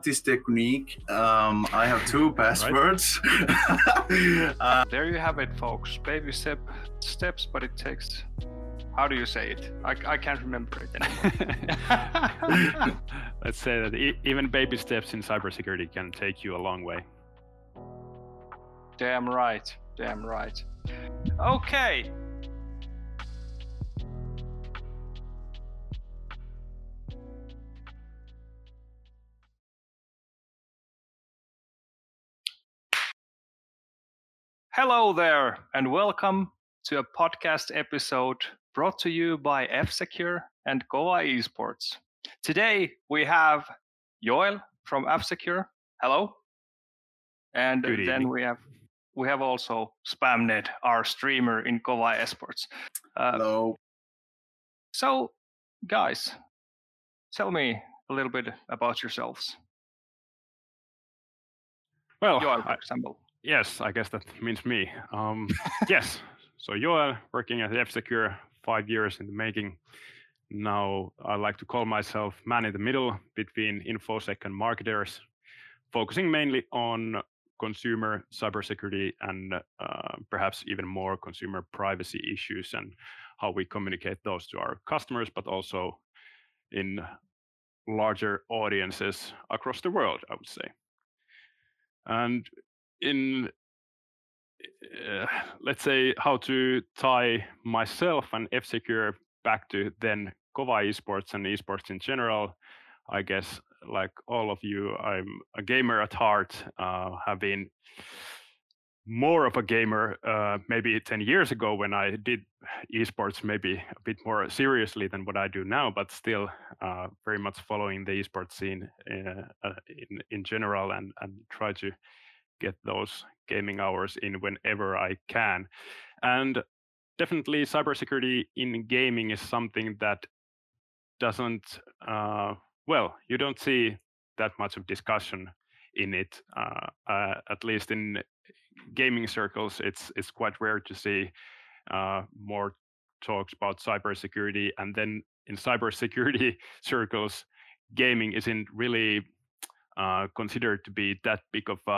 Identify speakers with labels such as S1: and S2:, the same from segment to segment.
S1: practice technique. I have 2 passwords.
S2: There you have it, folks. Baby steps, but it takes... How do you say it? I can't remember it anymore.
S3: Let's say that even baby steps in cybersecurity can take you a long way.
S2: Damn right. Damn right. Okay. Hello there, and welcome to a podcast episode brought to you by F-Secure and Kova Esports. Today we have Joel from F-Secure. Hello. And
S3: Good
S2: then
S3: evening.
S2: we have also Spamnet, our streamer in Kova Esports.
S1: Hello.
S2: So, guys, tell me a little bit about yourselves.
S3: Well,
S2: Joel, for example.
S3: Yes, I guess that means me. Yes, so Joel, working at F-Secure, 5 years in the making. Now I like to call myself man in the middle between InfoSec and marketers, focusing mainly on consumer cybersecurity and perhaps even more consumer privacy issues and how we communicate those to our customers, but also in larger audiences across the world, I would say. And in let's say how to tie myself and F-Secure back to then Kova Esports and esports in general. I guess like all of you, I'm a gamer at heart, have been more of a gamer maybe 10 years ago when I did esports maybe a bit more seriously than what I do now, but still very much following the esports scene in general and try to get those gaming hours in whenever I can. And definitely cybersecurity in gaming is something that doesn't, well, you don't see that much of discussion in it. At least in gaming circles, it's quite rare to see more talks about cybersecurity. And then in cybersecurity circles, gaming isn't really considered to be that big of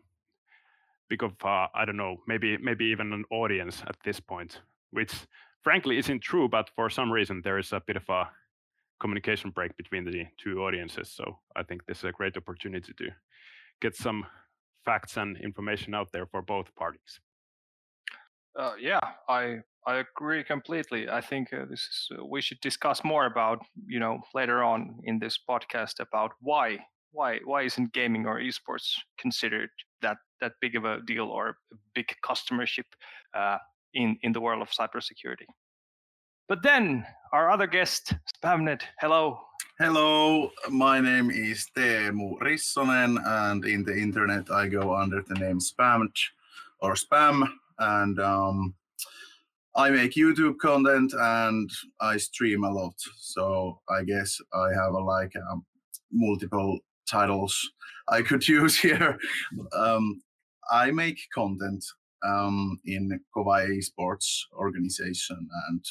S3: I don't know, maybe even an audience at this point, which frankly isn't true, but for some reason there is a bit of a communication break between the two audiences. So I think this is a great opportunity to get some facts and information out there for both parties.
S2: Yeah, I agree completely. I think we should discuss more about, later on in this podcast about why isn't gaming or esports considered that big of a deal or a big customership in the world of cybersecurity. But then our other guest, Spamnet. Hello.
S1: Hello, my name is Teemu Rissonen, and in the internet I go under the name Spamnet or Spam, and I make YouTube content and I stream a lot. So I guess I have multiple titles I could use here. I make content in Kova Esports organization, and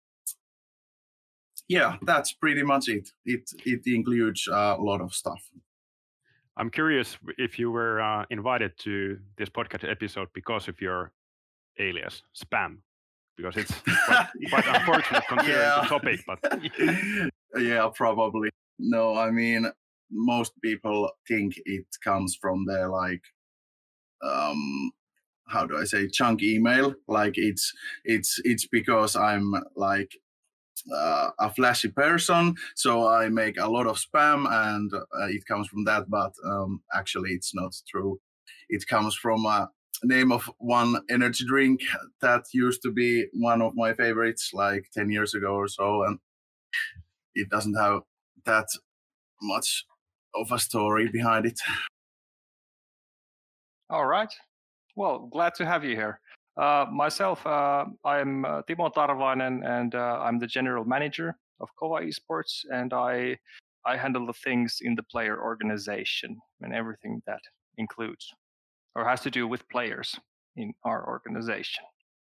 S1: yeah, that's pretty much it. It includes a lot of stuff.
S3: I'm curious if you were invited to this podcast episode because of your alias, Spam, because it's quite unfortunate considering the topic. But
S1: yeah, probably. No, I mean, most people think it comes from their how do I say, chunk email. Like it's because I'm like a flashy person, so I make a lot of spam, and it comes from that. But actually, it's not true. It comes from a name of one energy drink that used to be one of my favorites, like 10 years ago or so, and it doesn't have that much of a story behind it.
S2: All right. Well, glad to have you here. Myself, I'm Timo Tarvainen, and I'm the general manager of Kova Esports, and I handle the things in the player organization and everything that includes or has to do with players in our organization.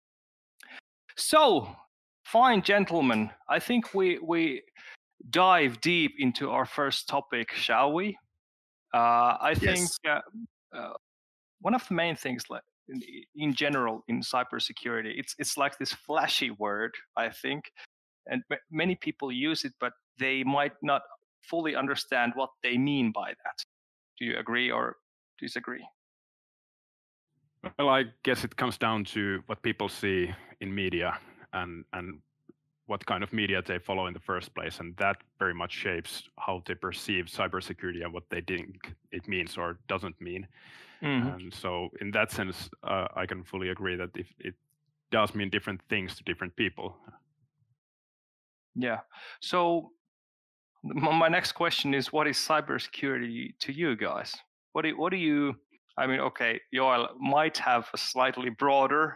S2: So, fine gentlemen, I think we dive deep into our first topic, shall we? I think
S1: Yes.
S2: one of the main things, like in general in cybersecurity, it's like this flashy word, I think, and many people use it, but they might not fully understand what they mean by that. Do you agree or disagree?
S3: Well, I guess it comes down to what people see in media and what kind of media they follow in the first place, and that very much shapes how they perceive cybersecurity and what they think it means or doesn't mean. And so, in that sense, I can fully agree that if it does mean different things to different people.
S2: Yeah. So my next question is, what is cybersecurity to you guys? What do you? I mean, okay, Joel might have a slightly broader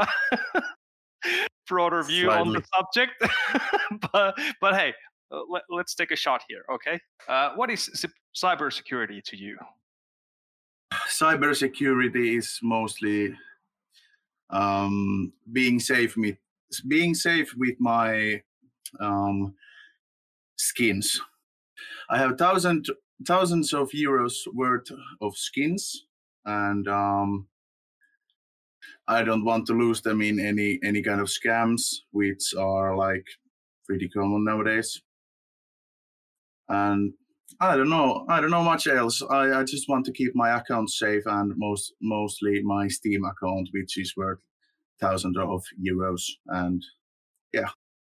S2: broader view on the
S1: Slightly.
S2: subject, but hey, let's take a shot here, okay? What is cybersecurity to you?
S1: Cybersecurity is mostly being safe with my skins. I have thousands of euros worth of skins, and I don't want to lose them in any kind of scams, which are like pretty common nowadays. And I don't know much else. I just want to keep my account safe, and mostly my Steam account, which is worth thousands of euros. And yeah.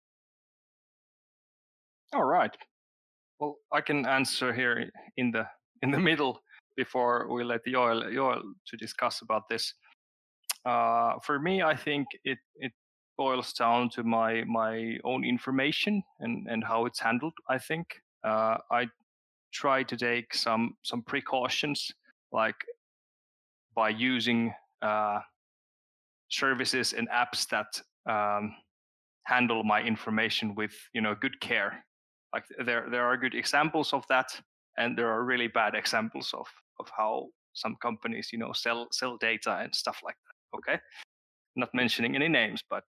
S2: All right. Well, I can answer here in the middle before we let Joel to discuss about this. For me, I think it boils down to my own information and how it's handled. I think I try to take some precautions, like by using services and apps that handle my information with good care. Like there are good examples of that, and there are really bad examples of how some companies sell data and stuff like that. Okay, not mentioning any names, but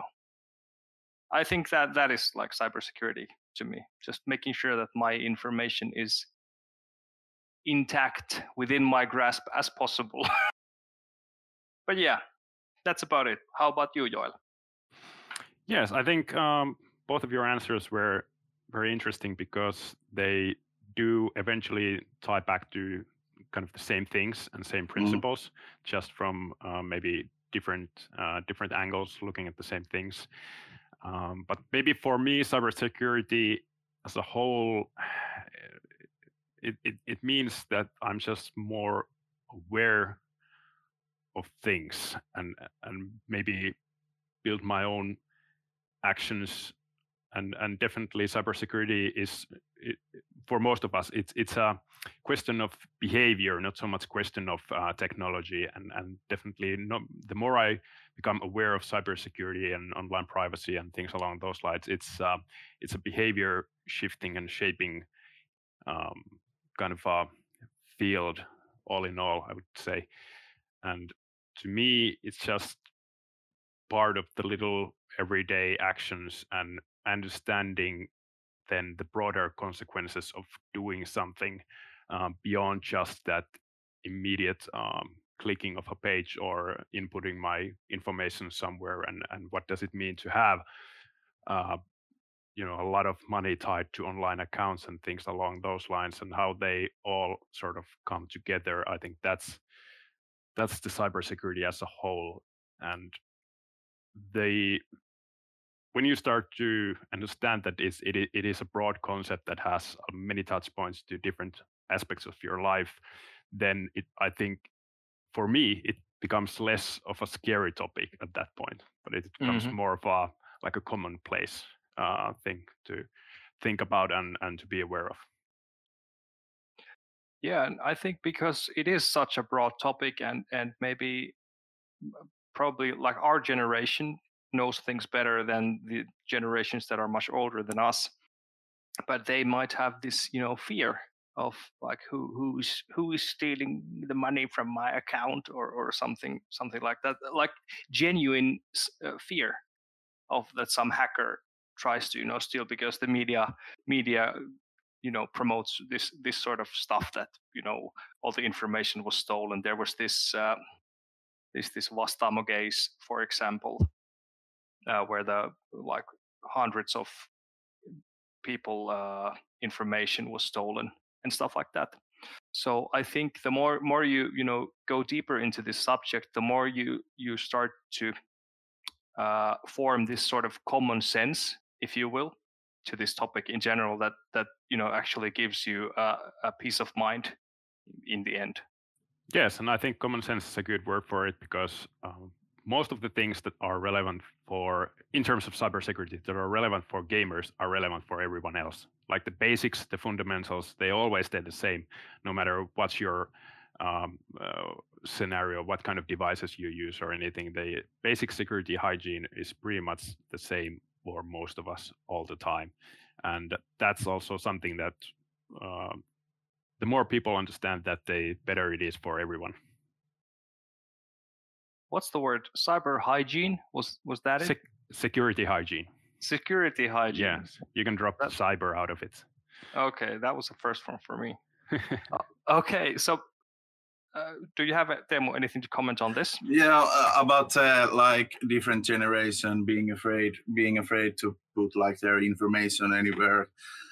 S2: I think that is like cybersecurity to me. Just making sure that my information is intact within my grasp as possible. But yeah, that's about it. How about you, Joel?
S3: Yes, I think both of your answers were very interesting because they do eventually tie back to kind of the same things and same principles, just from maybe different angles looking at the same things. But maybe for me, cybersecurity as a whole, it means that I'm just more aware of things and maybe build my own actions. And definitely cybersecurity is, for most of us, it's a question of behavior, not so much question of technology. And definitely the more I become aware of cybersecurity and online privacy and things along those lines, it's a behavior shifting and shaping kind of a field all in all, I would say. And to me, it's just part of the little everyday actions and understanding then the broader consequences of doing something beyond just that immediate clicking of a page or inputting my information somewhere, and what does it mean to have a lot of money tied to online accounts and things along those lines, and how they all sort of come together. I think that's the cybersecurity as a whole. And when you start to understand that it is a broad concept that has many touch points to different aspects of your life, then I think for me it becomes less of a scary topic at that point, but it becomes more of a commonplace thing to think about and to be aware of.
S2: Yeah, and I think because it is such a broad topic, and maybe probably like our generation knows things better than the generations that are much older than us, but they might have this fear of like who is stealing the money from my account, or something like that, like genuine fear of that some hacker tries to steal, because the media promotes this sort of stuff that all the information was stolen. There was this Vastaamo case, for example, where the hundreds of people information was stolen and stuff like that. So I think the more you go deeper into this subject, the more you start to form this sort of common sense, if you will, to this topic in general, that actually gives you a peace of mind in the end.
S3: Yes, and I think common sense is a good word for it, because most of the things that are relevant in terms of cybersecurity, that are relevant for gamers, are relevant for everyone else. Like the basics, the fundamentals, they always stay the same, no matter what's your scenario, what kind of devices you use or anything. The basic security hygiene is pretty much the same for most of us all the time. And that's also something that the more people understand that, the better it is for everyone.
S2: What's the word? Cyber hygiene? Was that it?
S3: Security hygiene.
S2: Security hygiene.
S3: Yes, you can drop the cyber out of it.
S2: Okay, that was the first one for me. Okay, so do you have, Teemu, anything to comment on this?
S1: Yeah, about like different generation being afraid to put like their information anywhere.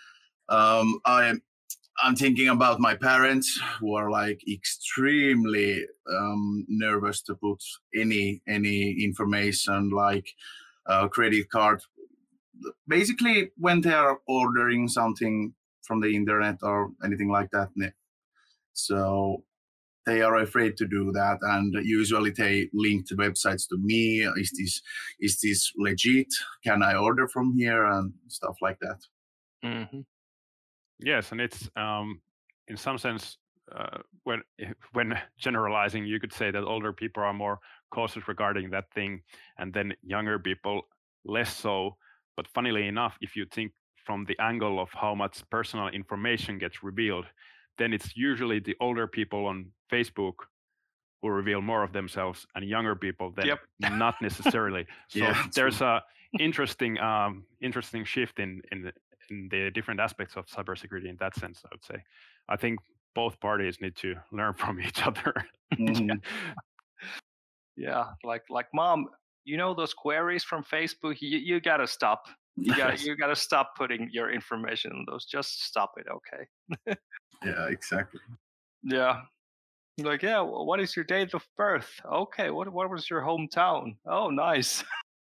S1: I'm thinking about my parents, who are like extremely nervous to put any information, like credit card. Basically, when they are ordering something from the internet or anything like that. So they are afraid to do that, and usually they link the websites to me. Is this legit? Can I order from here, and stuff like that?
S2: Mm-hmm.
S3: Yes, and it's in some sense, when generalizing, you could say that older people are more cautious regarding that thing, and then younger people less so. But funnily enough, if you think from the angle of how much personal information gets revealed, then it's usually the older people on Facebook who reveal more of themselves, and younger people then not necessarily. So there's a interesting shift in the different aspects of cybersecurity in that sense, I would say. I think both parties need to learn from each other.
S1: Mm-hmm.
S2: Yeah, like mom, those queries from Facebook, you gotta stop. You gotta stop putting your information on those. Just stop it, okay?
S1: Yeah, exactly.
S2: Yeah. Like, yeah, what is your date of birth? Okay, what was your hometown? Oh, nice.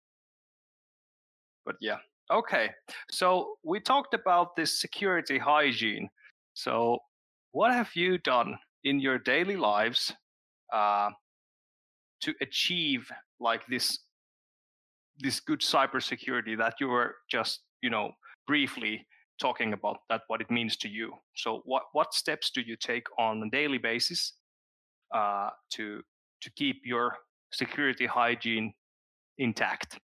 S2: But yeah, okay. So we talked about this security hygiene. So what have you done in your daily lives to achieve like this good cybersecurity that you were just briefly talking about, that what it means to you? So what steps do you take on a daily basis to keep your security hygiene intact?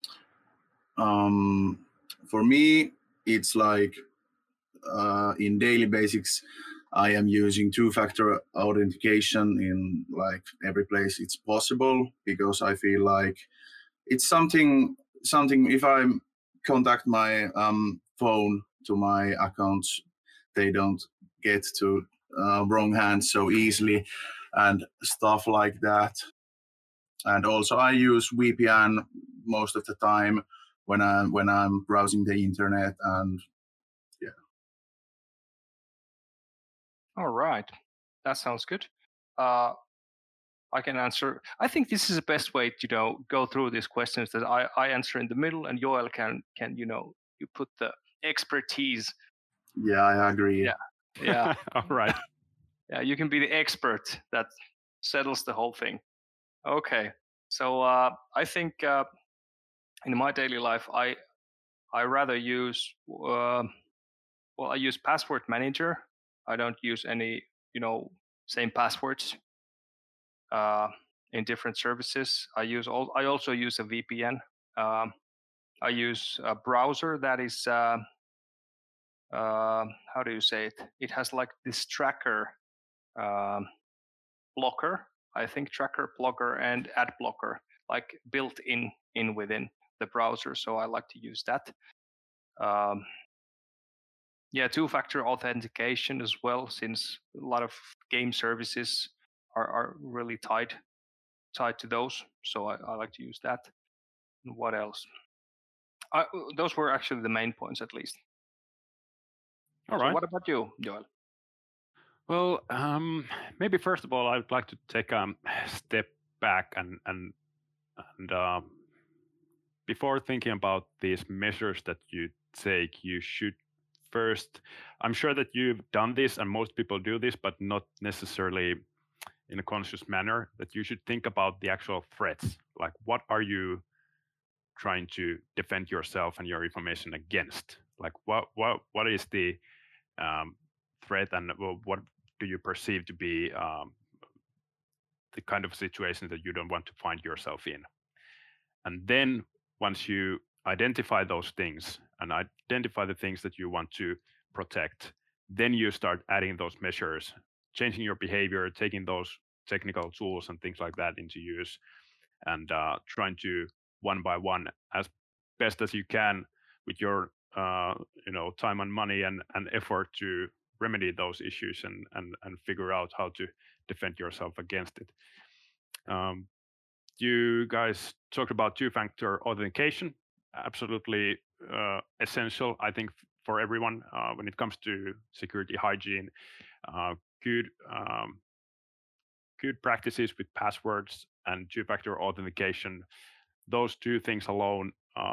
S1: For me, it's like in daily basics, I am using two-factor authentication in like every place it's possible, because I feel like it's something if I contact my phone to my accounts, they don't get to wrong hands so easily and stuff like that. And also I use VPN most of the time when I'm browsing the internet, and yeah.
S2: All right, that sounds good. I can answer. I think this is the best way to go through these questions, that I answer in the middle, and Joel can you put the expertise.
S1: Yeah, I agree.
S2: Yeah.
S3: All right.
S2: Yeah, you can be the expert that settles the whole thing. Okay, so I think in my daily life I rather use I use password manager. I don't use any same passwords in different services. I also use a VPN. I use a browser that is how do you say it? It has like this tracker blocker. I think tracker blocker and ad blocker, like built in within the browser. So I like to use that. Yeah, two-factor authentication as well, since a lot of game services are really tied to those. So I like to use that. And what else? Those were actually the main points, at least.
S3: All
S2: So
S3: right.
S2: what about you, Joel?
S3: Well, maybe first of all, I'd like to take a step back and before thinking about these measures that you take, you should first. I'm sure that you've done this, and most people do this, but not necessarily in a conscious manner. That you should think about the actual threats. Like, what are you trying to defend yourself and your information against? Like, what is the threat, and what do you perceive to be the kind of situation that you don't want to find yourself in? And then once you identify those things and identify the things that you want to protect, then you start adding those measures, changing your behavior, taking those technical tools and things like that into use, and trying to one by one, as best as you can, with your time and money and effort, to remedy those issues and figure out how to defend yourself against it. You guys talked about two-factor authentication. Absolutely essential, I think, for everyone when it comes to security hygiene. Good good practices with passwords and two-factor authentication. Those two things alone,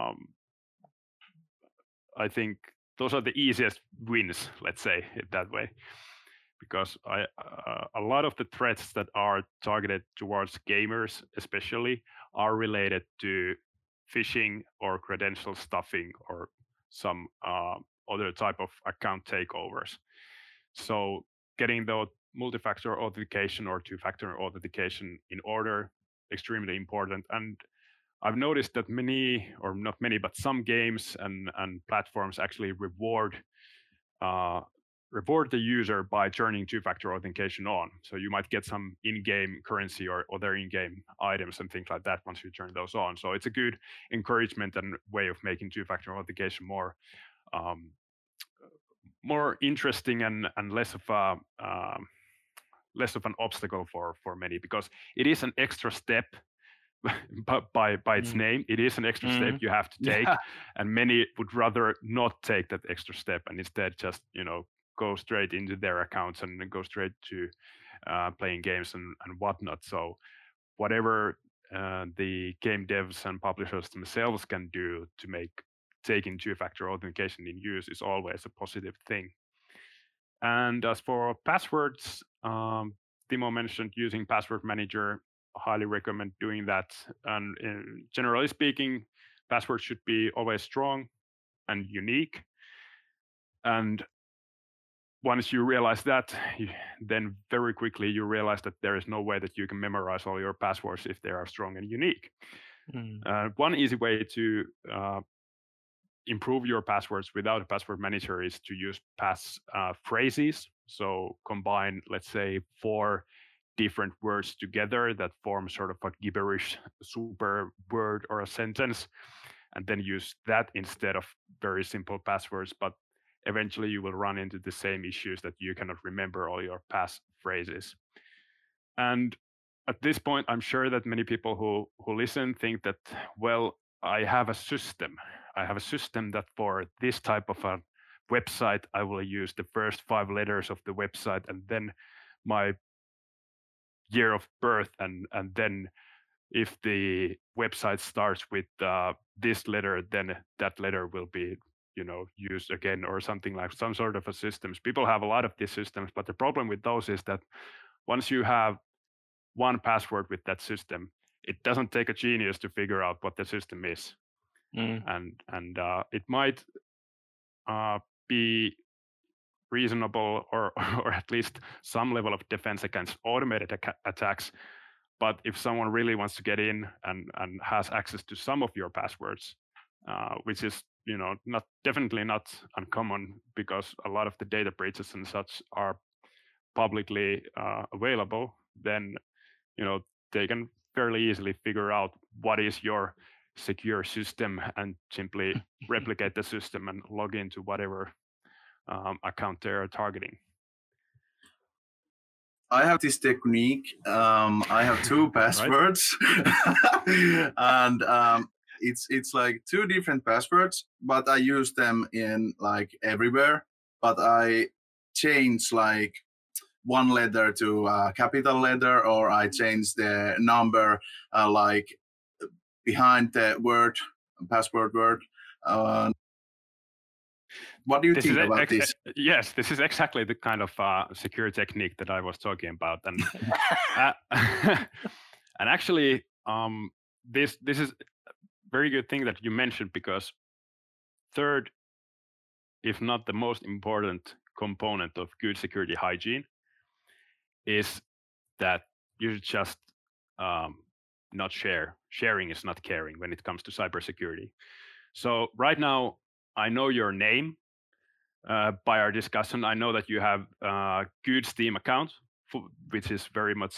S3: I think, those are the easiest wins. Let's say it that way. Because a lot of the threats that are targeted towards gamers, especially, are related to phishing or credential stuffing or some other type of account takeovers. So getting the multi-factor authentication or two-factor authentication in order, extremely important. And I've noticed that many, or not many, but some games and platforms actually reward the user by turning two-factor authentication on. So you might get some in-game currency or other in-game items and things like that once you turn those on. So it's a good encouragement and way of making two-factor authentication more interesting and less of an obstacle for many, because it is an extra step. But by its name, it is an extra step you have to take, and many would rather not take that extra step and instead just go straight into their accounts and go straight to playing games and whatnot. So whatever the game devs and publishers themselves can do to make taking two-factor authentication in use is always a positive thing. And as for passwords, Timo mentioned using Password Manager. Highly recommend doing that. And generally speaking, passwords should be always strong and unique. And once you realize that, then very quickly you realize that there is no way that you can memorize all your passwords if they are strong and unique. One easy way to improve your passwords without a password manager is to use pass phrases. So combine, let's say, 4 different words together that form sort of a gibberish super word or a sentence, and then use that instead of very simple passwords. But eventually you will run into the same issues that you cannot remember all your pass phrases. And at this point, I'm sure that many people who listen think that, well, I have a system that for this type of a website, I will use the first 5 letters of the website and then my year of birth, and then if the website starts with this letter, then that letter will be used again, or something, like some sort of a systems. People have a lot of these systems, but the problem with those is that once you have one password with that system, it doesn't take a genius to figure out what the system is. And it might be reasonable or at least some level of defense against automated attacks. But if someone really wants to get in and has access to some of your passwords, which is definitely not uncommon, because a lot of the data breaches and such are publicly available, then they can fairly easily figure out what is your secure system and simply replicate the system and log into whatever account they're targeting?
S1: I have this technique. I have two passwords, and it's like two different passwords, but I use them in like everywhere. But I change like one letter to a capital letter, or I change the number like behind the word, password word. What do you think about this?
S3: Yes, this is exactly the kind of secure technique that I was talking about, and and actually, this is a very good thing that you mentioned, because third, if not the most important component of good security hygiene, is that you should just not share. Sharing is not caring when it comes to cybersecurity. So right now, I know your name. By our discussion, I know that you have a good Steam account, which is very much,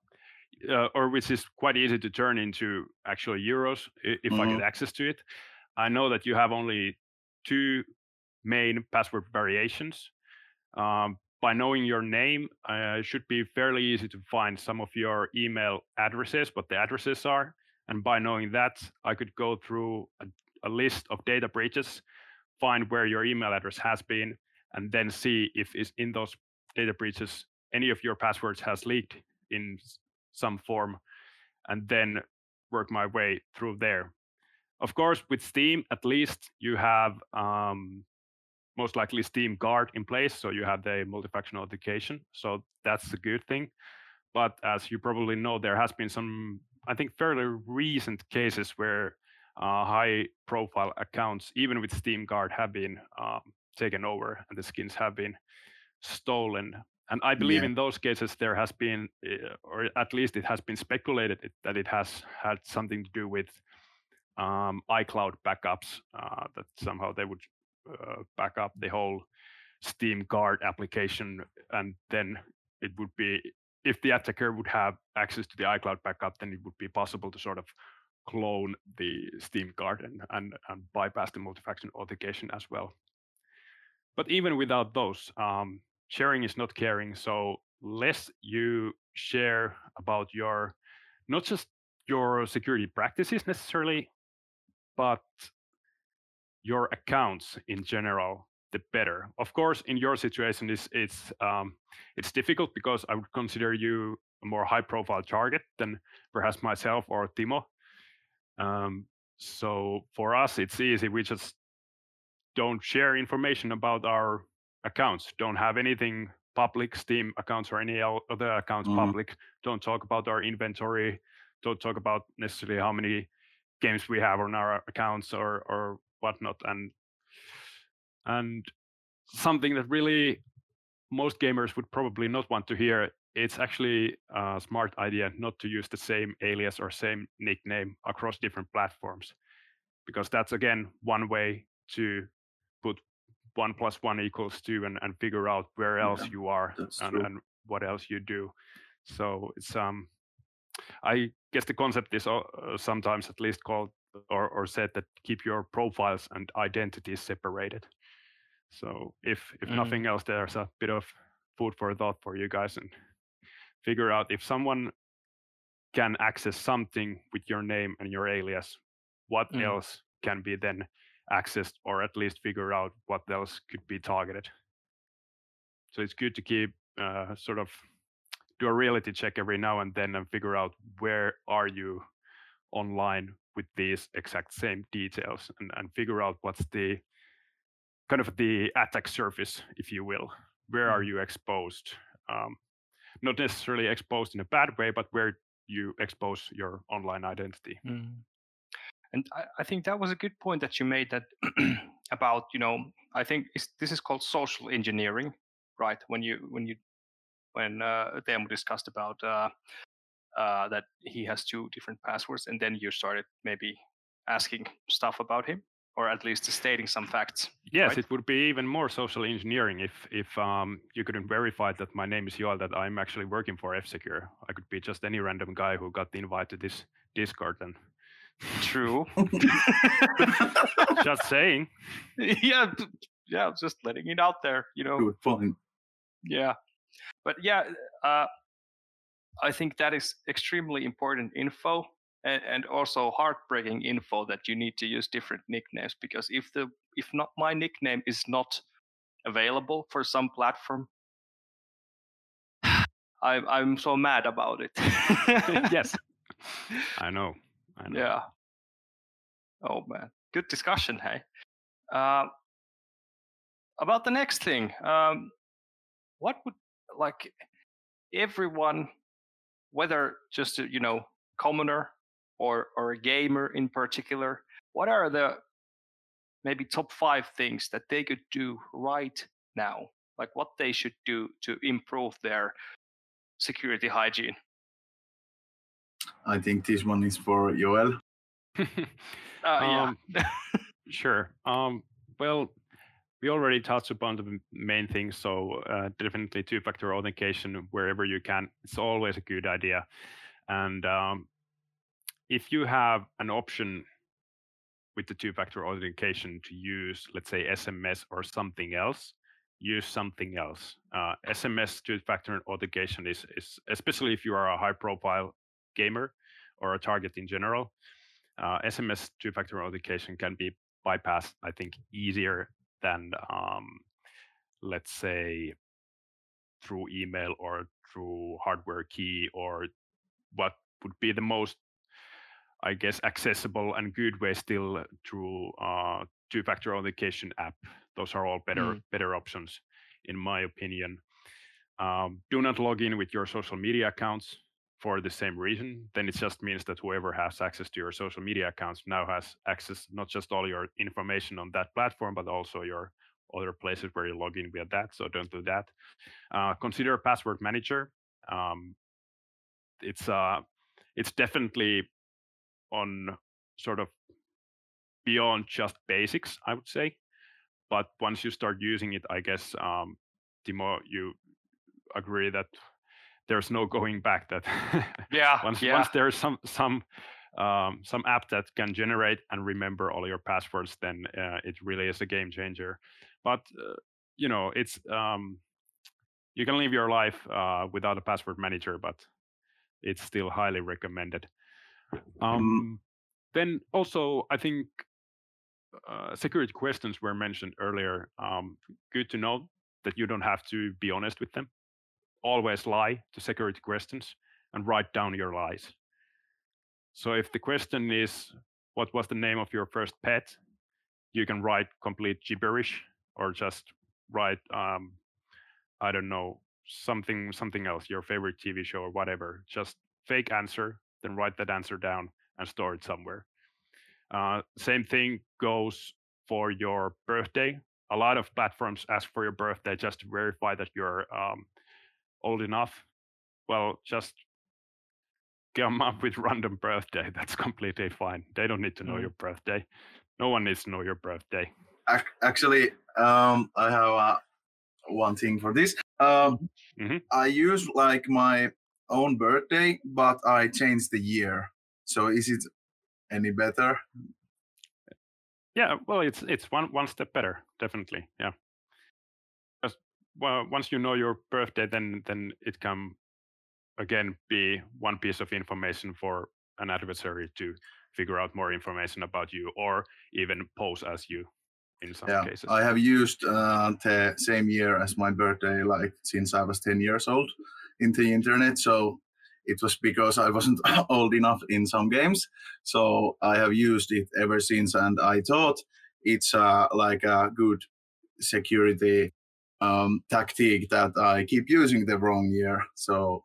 S3: or which is quite easy to turn into actual euros if I get access to it. I know that you have only 2 main password variations. By knowing your name, it should be fairly easy to find some of your email addresses, what the addresses are. And by knowing that, I could go through a list of data breaches, find where your email address has been, and then see if in those data breaches any of your passwords has leaked in some form, and then work my way through there. Of course, with Steam, at least you have most likely Steam Guard in place, so you have the multi-factor authentication, so that's a good thing. But as you probably know, there has been some, I think, fairly recent cases where high-profile accounts, even with Steam Guard, have been taken over and the skins have been stolen. And I believe in those cases there has been, or at least it has been speculated that it has had something to do with iCloud backups, that somehow they would back up the whole Steam Guard application, and then it would be, if the attacker would have access to the iCloud backup, then it would be possible to sort of clone the Steam Guard and bypass the multi-factor authentication as well. But even without those, sharing is not caring. So less you share about your, not just your security practices necessarily, but your accounts in general, the better. Of course, in your situation, it's difficult because I would consider you a more high-profile target than perhaps myself or Timo. So for us, it's easy. We just don't share information about our accounts. Don't have anything public, Steam accounts or any other accounts public. Don't talk about our inventory. Don't talk about necessarily how many games we have on our accounts or whatnot. And something that really most gamers would probably not want to hear, it's actually a smart idea not to use the same alias or same nickname across different platforms, because that's, again, one way to put 1 + 1 = 2 and figure out where else you are and what else you do. So it's I guess the concept is sometimes at least called or said that keep your profiles and identities separated. So if nothing else, there's a bit of food for thought for you guys, and figure out if someone can access something with your name and your alias, what else can be then accessed, or at least figure out what else could be targeted. So it's good to keep sort of do a reality check every now and then and figure out where are you online with these exact same details, and figure out what's the kind of the attack surface, if you will. Where are you exposed? Not necessarily exposed in a bad way, but where you expose your online identity.
S2: And I think that was a good point that you made, that about, I think this is called social engineering, right? When Teemu discussed about that he has 2 different passwords, and then you started maybe asking stuff about him, or at least stating some facts.
S3: Yes,
S2: right?
S3: It would be even more social engineering if you couldn't verify that my name is Joel, that I'm actually working for F-Secure. I could be just any random guy who got the invite to this Discord. And
S2: true.
S3: Just saying.
S2: Yeah, just letting it out there,
S1: Good point.
S2: Yeah, but yeah, I think that is extremely important info, and also heartbreaking info that you need to use different nicknames, because if not my nickname is not available for some platform, I'm so mad about it.
S3: Yes, I know.
S2: Yeah. Oh man, good discussion. Hey, about the next thing. What would, like, everyone, whether just a commoner or a gamer in particular, what are the maybe top 5 things that they could do right now, like what they should do to improve their security hygiene?
S1: I think this one is for Joel.
S2: Yeah.
S3: Sure. Well, we already touched upon the main things, so definitely two-factor authentication wherever you can. It's always a good idea. And if you have an option with the two-factor authentication to use, let's say, SMS or something else, use something else. SMS two-factor authentication is especially if you are a high-profile gamer or a target in general, SMS two-factor authentication can be bypassed, I think, easier than, let's say, through email or through hardware key, or what would be the most, I guess, accessible and good way still through two-factor authentication app. Those are all better options, in my opinion. Do not log in with your social media accounts for the same reason. Then it just means that whoever has access to your social media accounts now has access not just all your information on that platform, but also your other places where you log in via that. So don't do that. Consider a password manager. It's definitely on sort of beyond just basics, I would say. But once you start using it, I guess, Timo, you agree that there's no going back. That once there's some app that can generate and remember all your passwords, then it really is a game changer. But it's you can live your life without a password manager, but it's still highly recommended. Then also, I think security questions were mentioned earlier. Good to know that you don't have to be honest with them. Always lie to security questions and write down your lies. So if the question is, what was the name of your first pet? You can write complete gibberish, or just write, I don't know, something else, your favorite TV show or whatever. Just fake answer, then write that answer down and store it somewhere. Same thing goes for your birthday. A lot of platforms ask for your birthday just to verify that you're old enough. Well, just come up with random birthday. That's completely fine. They don't need to know your birthday. No one needs to know your birthday.
S1: Actually, I have one thing for this. I use like my own birthday, but I changed the year. So is it any better?
S3: Yeah, well, it's one step better, definitely. Yeah. Well, once you know your birthday, then it can again be one piece of information for an adversary to figure out more information about you, or even pose as you in some cases.
S1: I have used the same year as my birthday, like since I was 10 years old in the internet. So it was because I wasn't old enough in some games. So I have used it ever since, and I thought it's like a good security tactic that I keep using the wrong year. So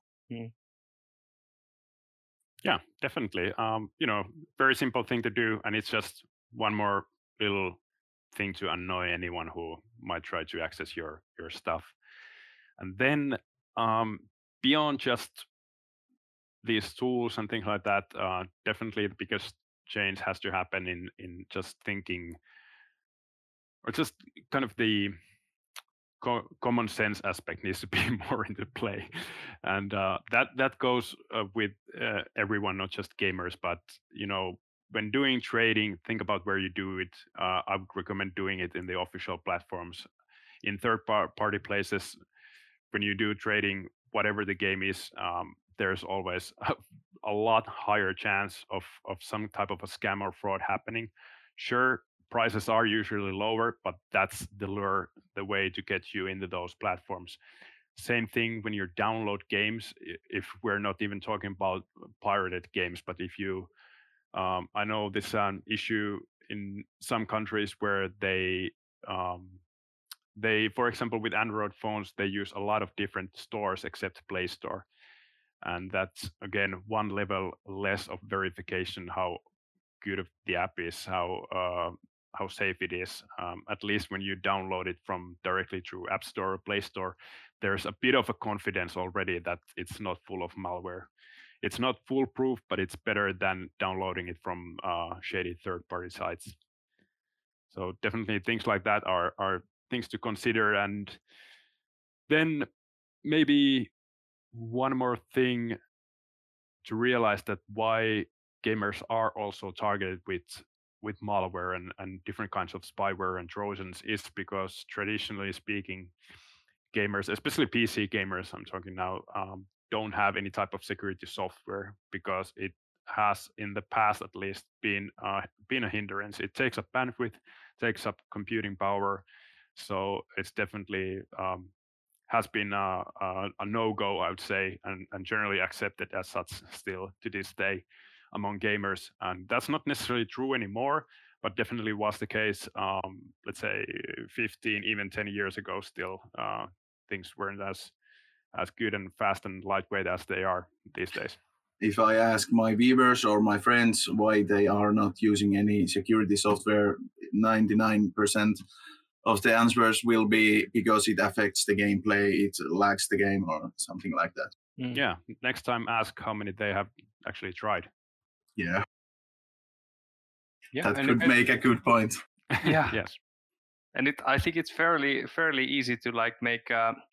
S3: yeah, definitely. Very simple thing to do, and it's just one more little thing to annoy anyone who might try to access your stuff. And then beyond just these tools and things like that, definitely the biggest change has to happen in just thinking, or just kind of the common sense aspect needs to be more into play. And that goes with everyone, not just gamers, but when doing trading, think about where you do it. I would recommend doing it in the official platforms. In third-party places, when you do trading, whatever the game is, there's always a lot higher chance of some type of a scam or fraud happening. Sure, prices are usually lower, but that's the lure, the way to get you into those platforms. Same thing when you download games. If we're not even talking about pirated games, but if you, I know this is an issue in some countries where they, for example, with Android phones, they use a lot of different stores except Play Store, and that's again one level less of verification how good of the app is, how safe it is. At least when you download it from directly through App Store or Play Store, there's a bit of a confidence already that it's not full of malware. It's not foolproof, but it's better than downloading it from shady third-party sites. So definitely things like that are things to consider. And then maybe one more thing to realize, that why gamers are also targeted with malware and different kinds of spyware and trojans is because traditionally speaking, gamers, especially PC gamers, I'm talking now, don't have any type of security software because it has in the past at least been a hindrance. It takes up bandwidth, takes up computing power, so it's definitely has been a no-go, I would say, and generally accepted as such still to this day among gamers. And that's not necessarily true anymore, but definitely was the case, let's say 15, even 10 years ago still. Things weren't as good and fast and lightweight as they are these days.
S1: If I ask my viewers or my friends why they are not using any security software, 99% of the answers will be because it affects the gameplay, it lags the game or something like that.
S3: Yeah, next time ask how many they have actually tried.
S1: Yeah, that could make a good point.
S2: Yeah.
S3: Yes.
S2: And I think it's fairly easy to like make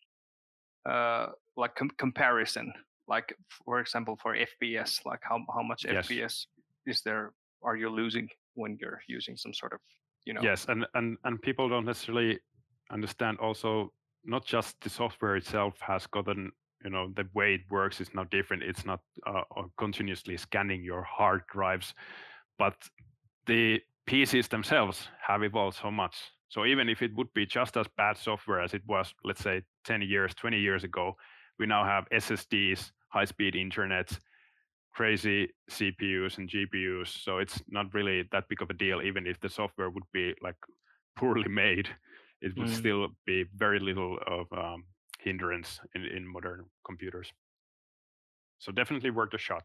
S2: like comparison, like for example for FPS, like how much
S3: Yes.
S2: FPS are you losing when you're using some sort of, you know.
S3: Yes, and people don't necessarily understand also, not just the software itself has gotten, the way it works is now different. It's not continuously scanning your hard drives, but the PCs themselves have evolved so much. So even if it would be just as bad software as it was, let's say 10 years, 20 years ago, we now have SSDs, high-speed internet, crazy CPUs and GPUs. So it's not really that big of a deal. Even if the software would be like poorly made, it would still be very little of hindrance in modern computers. So definitely worth a shot.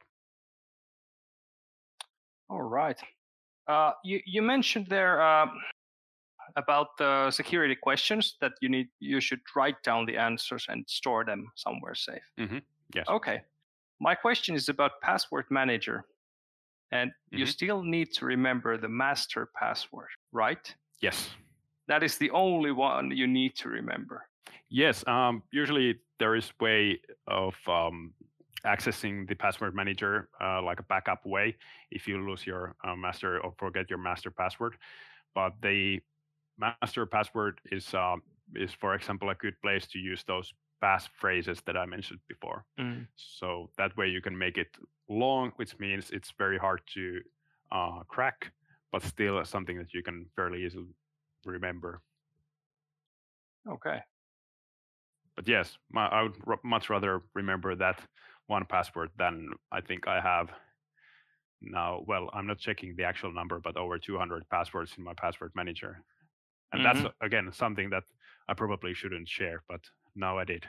S2: All right. You mentioned there about the security questions that you should write down the answers and store them somewhere safe.
S3: Mm-hmm. Yes.
S2: Okay. My question is about password manager, and you still need to remember the master password, right?
S3: Yes.
S2: That is the only one you need to remember.
S3: Yes. Usually there is way of accessing the password manager like a backup way if you lose your master or forget your master password. But the master password is for example a good place to use those passphrases that I mentioned before. So that way you can make it long, which means it's very hard to crack, but still something that you can fairly easily remember.
S2: Okay.
S3: But yes, I would much rather remember that one password than I think I have now. Well, I'm not checking the actual number, but over 200 passwords in my password manager. And that's, again, something that I probably shouldn't share, but now I did.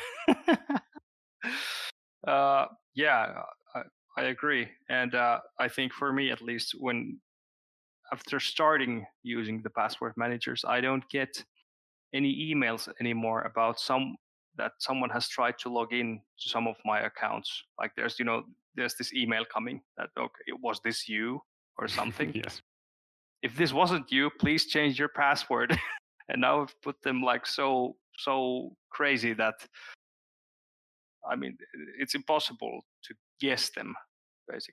S2: Yeah, I agree. And I think for me, at least, after starting using the password managers, I don't get any emails anymore about that someone has tried to log in to some of my accounts. Like there's this email coming that, okay, was this you or something?
S3: Yes.
S2: If this wasn't you, please change your password. And now I've put them like so crazy that, I mean, it's impossible to guess them, basically.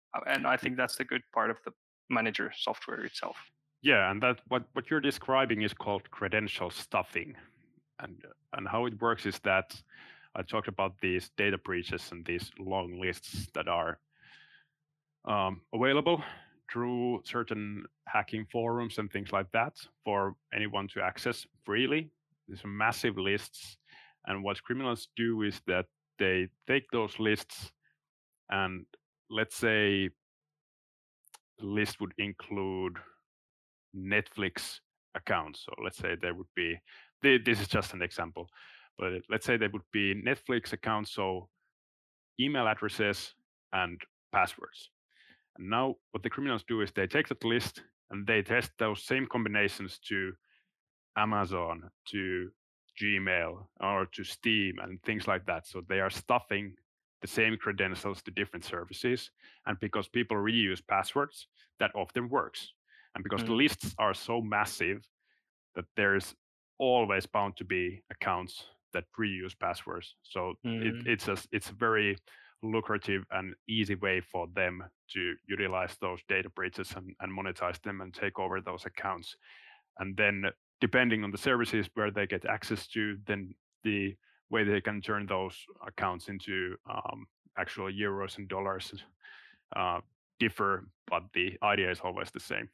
S2: And I think that's the good part of the manager software itself.
S3: Yeah, and that what you're describing is called credential stuffing, and how it works is that I talked about these data breaches and these long lists that are available through certain hacking forums and things like that for anyone to access freely. These are massive lists, and what criminals do is that they take those lists, and let's say the list would include Netflix accounts. So let's say there would be, this is just an example, but let's say there would be Netflix accounts, so email addresses and passwords. And now what the criminals do is they take that list and they test those same combinations to Amazon, to Gmail, or to Steam and things like that. So they are stuffing the same credentials to different services. And because people reuse passwords, that often works. And because the lists are so massive that there's always bound to be accounts that reuse passwords. So it's a very lucrative and easy way for them to utilize those data breaches and monetize them and take over those accounts. And then depending on the services where they get access to, then the way they can turn those accounts into actual euros and dollars differ, but the idea is always the same.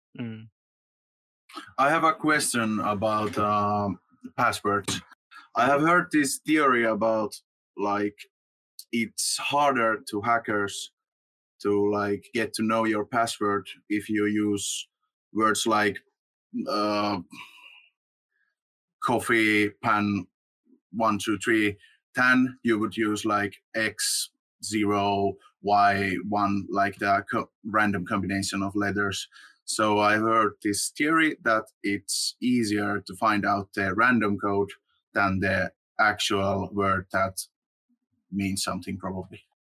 S1: I have a question about passwords. I have heard this theory about like it's harder to hackers to like get to know your password if you use words like coffee pan 1 2 3 10. You would use like X0 Y1, like the random combination of letters. So I heard this theory that it's easier to find out the random code than the actual word that means something, probably.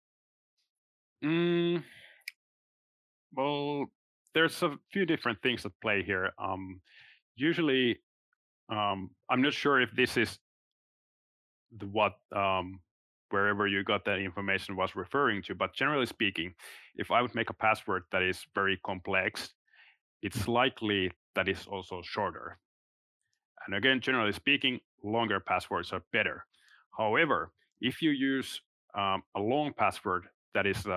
S3: Well, there's a few different things at play here. Usually, I'm not sure if this is what wherever you got that information was referring to, but generally speaking, if I would make a password that is very complex, it's likely that it's also shorter. And again, generally speaking, longer passwords are better. However, if you use a long password that is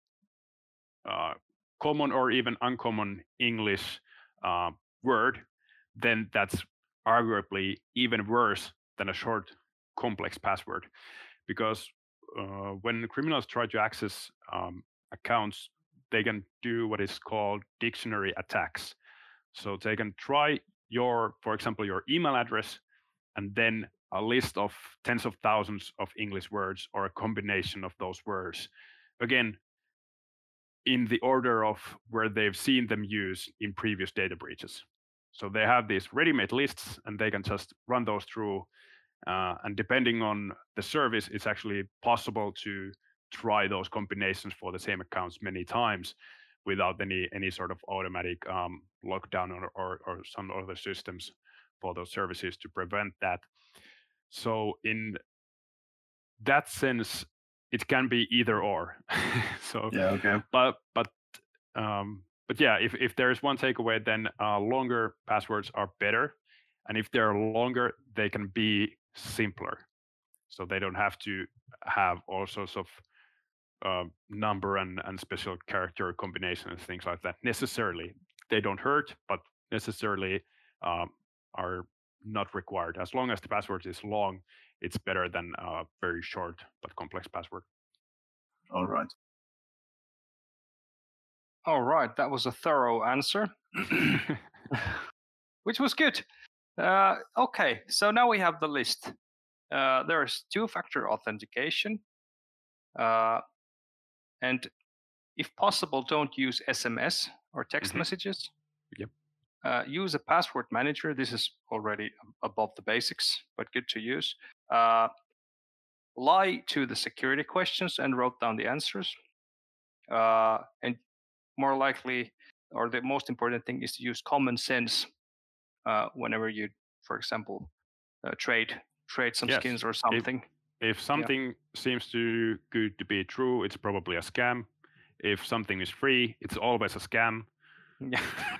S3: common or even uncommon English word, then that's arguably even worse than a short, complex password. Because when criminals try to access accounts, they can do what is called dictionary attacks. So they can try for example, your email address, and then a list of tens of thousands of English words or a combination of those words. Again, in the order of where they've seen them used in previous data breaches. So they have these ready-made lists and they can just run those through. And depending on the service, it's actually possible to try those combinations for the same accounts many times without any sort of automatic lockdown or some other systems for those services to prevent that. So in that sense, it can be either or. So
S1: yeah, okay.
S3: But yeah, if there is one takeaway, then longer passwords are better, and if they're longer, they can be simpler. So they don't have to have all sorts of number and special character combinations and things like that necessarily. They don't hurt, but necessarily are not required. As long as the password is long, it's better than a very short but complex password.
S1: All right.
S2: All right, that was a thorough answer, which was good. Okay, so now we have the list. There's two-factor authentication, and if possible, don't use SMS or text messages.
S3: Yep.
S2: Use a password manager. This is already above the basics, but good to use. Lie to the security questions and wrote down the answers. And more likely, or the most important thing, is to use common sense whenever you, for example, trade some skins or something.
S3: If something seems too good to be true, it's probably a scam. If something is free, it's always a scam.
S2: Yeah.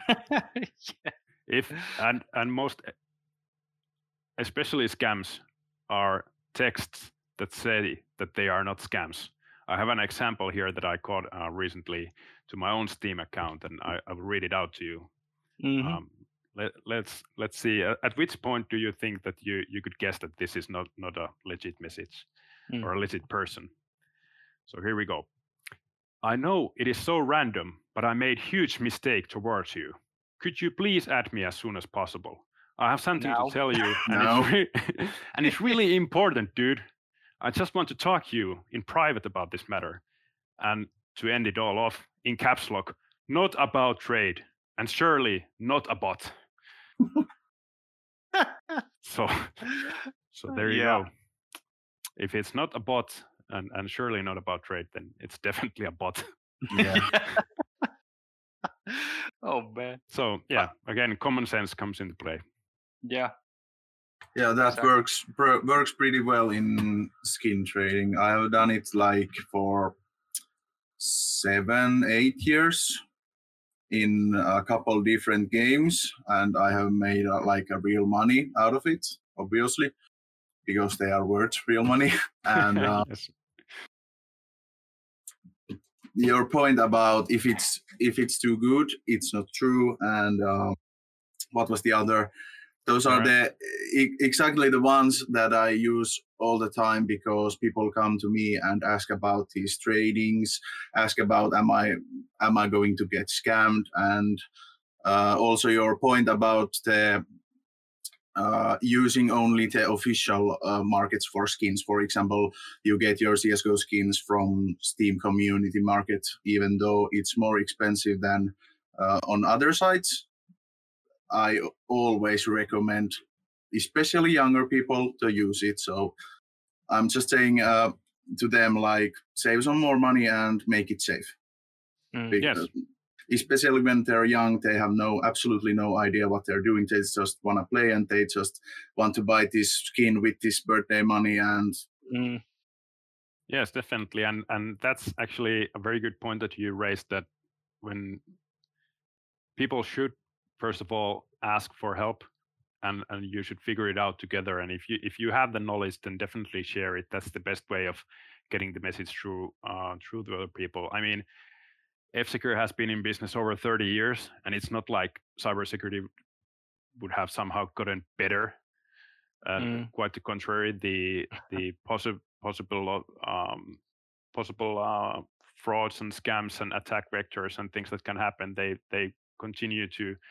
S3: If and most especially scams are texts that say that they are not scams. I have an example here that I caught recently to my own Steam account, and I will read it out to you.
S2: Mhm.
S3: Let's see. At which point do you think that you could guess that this is not a legit message or a legit person? So here we go. I know it is so random, but I made huge mistake towards you. Could you please add me as soon as possible? I have something
S2: Now.
S3: to tell you, and
S1: Now.
S3: and it's really important, dude. I just want to talk to you in private about this matter. And to end it all off, in caps lock, not about trade, and surely not a bot. So there you
S2: Yeah.
S3: go. If it's not a bot and surely not about trade, then it's definitely a bot.
S1: Yeah.
S2: Oh man.
S3: So yeah, again, common sense comes into play.
S2: Yeah.
S1: Yeah, that
S2: Exactly.
S1: works pretty well in skin trading. I have done it like for 7-8 years in a couple different games, and I have made like a real money out of it, obviously, because they are worth real money. And
S3: Yes.
S1: your point about if it's too good, it's not true. And what was the other? Those are
S3: Alright.
S1: exactly the ones that I use all the time, because people come to me and ask about these tradings, ask about am I going to get scammed, and also your point about the using only the official markets for skins. For example, you get your CSGO skins from Steam Community Market, even though it's more expensive than on other sites. I always recommend, especially younger people, to use it. So I'm just saying to them, like, save some more money and make it safe.
S3: Yes.
S1: Especially when they're young, they have absolutely no idea what they're doing. They just want to play, and they just want to buy this skin with this birthday money. And
S3: Yes, definitely. And that's actually a very good point that you raised, that when people should first of all ask for help, and you should figure it out together. And if you have the knowledge, then definitely share it. That's the best way of getting the message through to other people. I mean, F-Secure has been in business over 30 years, and it's not like cybersecurity would have somehow gotten better. Quite the contrary, the possible frauds and scams and attack vectors and things that can happen, they continue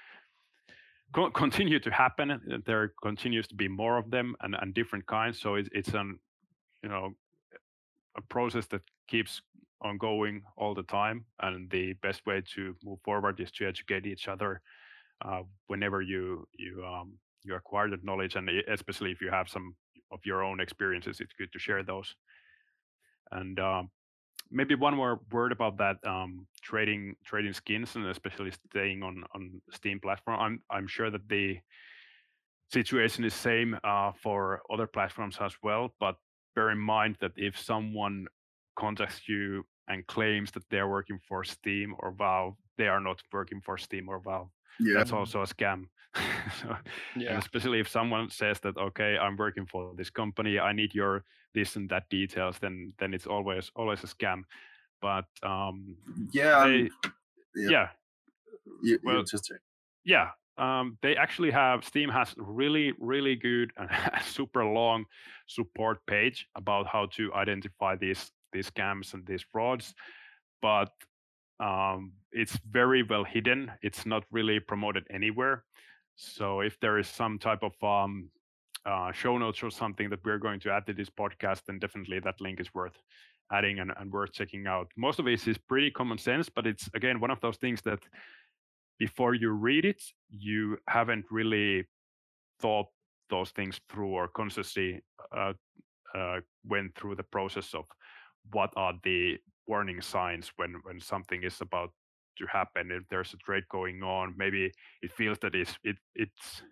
S3: to happen. There continues to be more of them and different kinds. So it's an a process that keeps on going all the time, and the best way to move forward is to educate each other whenever you acquire that knowledge, and especially if you have some of your own experiences, it's good to share those. And maybe one more word about that trading skins, and especially staying on Steam platform. I'm sure that the situation is same for other platforms as well, but bear in mind that if someone contacts you and claims that they're working for Steam or Valve, they are not working for Steam or Valve.
S1: yeah,
S3: That's also a scam. So,
S2: Yeah.
S3: and especially if someone says that, okay, I'm working for this company, I need your this and that details, then it's always a scam. But
S1: yeah,
S3: they,
S1: yeah. You just say.
S3: yeah, they actually have, Steam has really good and super long support page about how to identify these scams and these frauds, but it's very well hidden. It's not really promoted anywhere. So if there is some type of show notes or something that we're going to add to this podcast, then definitely that link is worth adding and worth checking out. Most of it is pretty common sense, but it's again one of those things that before you read it, you haven't really thought those things through or consciously went through the process of what are the warning signs when something is about to happen. If there's a trade going on, maybe it feels that it's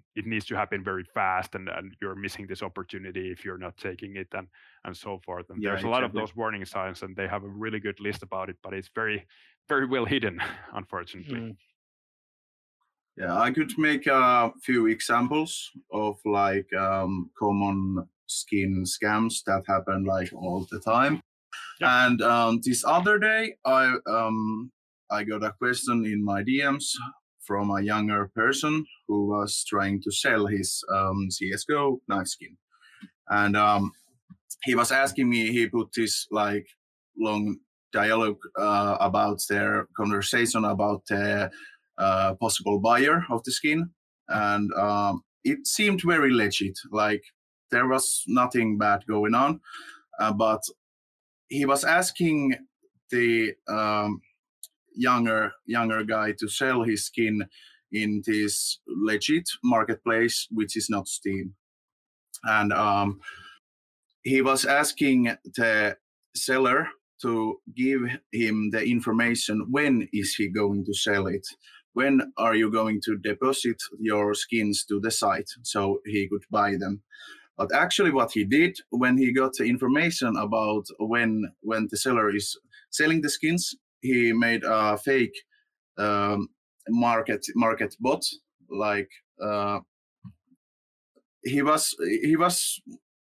S3: it needs to happen very fast, and you're missing this opportunity if you're not taking it, and so forth. And there's a lot of those warning signs, and they have a really good list about it, but it's very, very well hidden, unfortunately.
S1: Yeah, I could make a few examples of like common skin scams that happen like all the time.
S3: Yep.
S1: And this other day, I got a question in my DMs from a younger person who was trying to sell his CS:GO knife skin, and he was asking me. He put this like long dialogue about their conversation about the possible buyer of the skin, and it seemed very legit. Like there was nothing bad going on, but he was asking the younger guy to sell his skin in this legit marketplace, which is not Steam, and he was asking the seller to give him the information. When is he going to sell it? When are you going to deposit your skins to the site so he could buy them? But actually what he did when he got the information about when the seller is selling the skins, he made a fake market bot. Like he was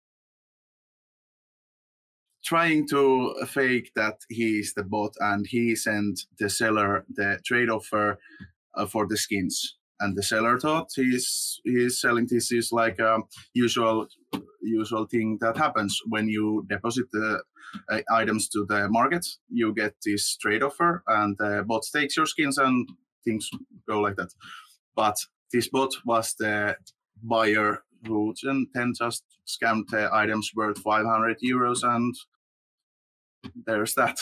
S1: trying to fake that he is the bot, and he sent the seller the trade offer for the skins. And the seller thought he's selling this is like a usual thing that happens when you deposit the items to the market. You get this trade offer, and the bot takes your skins, and things go like that. But this bot was the buyer who then just scammed the items worth 500 euros, and there's that.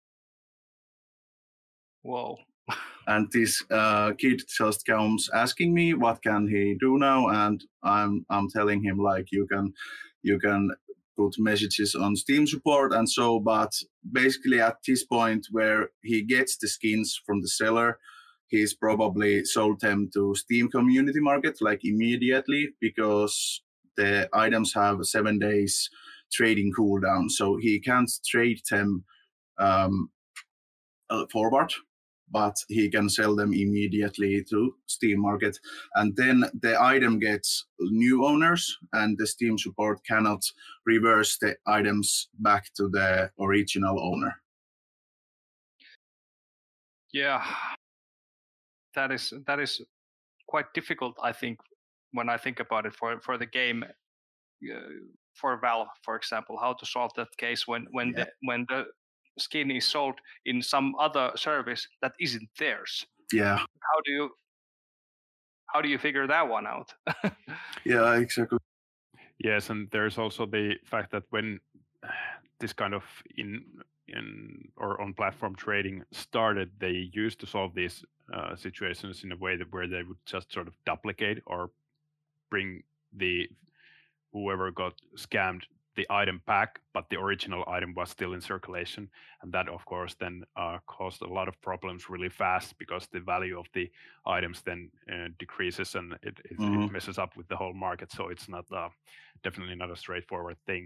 S2: Whoa.
S1: And this kid just comes asking me what can he do now, and I'm telling him like you can put messages on Steam support and so. But basically at this point where he gets the skins from the seller, he's probably sold them to Steam community market like immediately, because the items have 7 days trading cooldown, so he can't trade them forward, but he can sell them immediately to Steam market. And then the item gets new owners, and the Steam support cannot reverse the items back to the original owner.
S2: Yeah, that is quite difficult, I think, when I think about it for the game, for Valve, for example, how to solve that case when the skin is sold in some other service that isn't theirs.
S1: Yeah.
S2: How do you figure that one out?
S1: Yeah, exactly.
S3: Yes, and there's also the fact that when this kind of in or on platform trading started, they used to solve these situations in a way that where they would just sort of duplicate or bring the whoever got scammed the item back, but the original item was still in circulation, and that of course then caused a lot of problems really fast, because the value of the items then decreases, and it messes up with the whole market. So it's not definitely not a straightforward thing.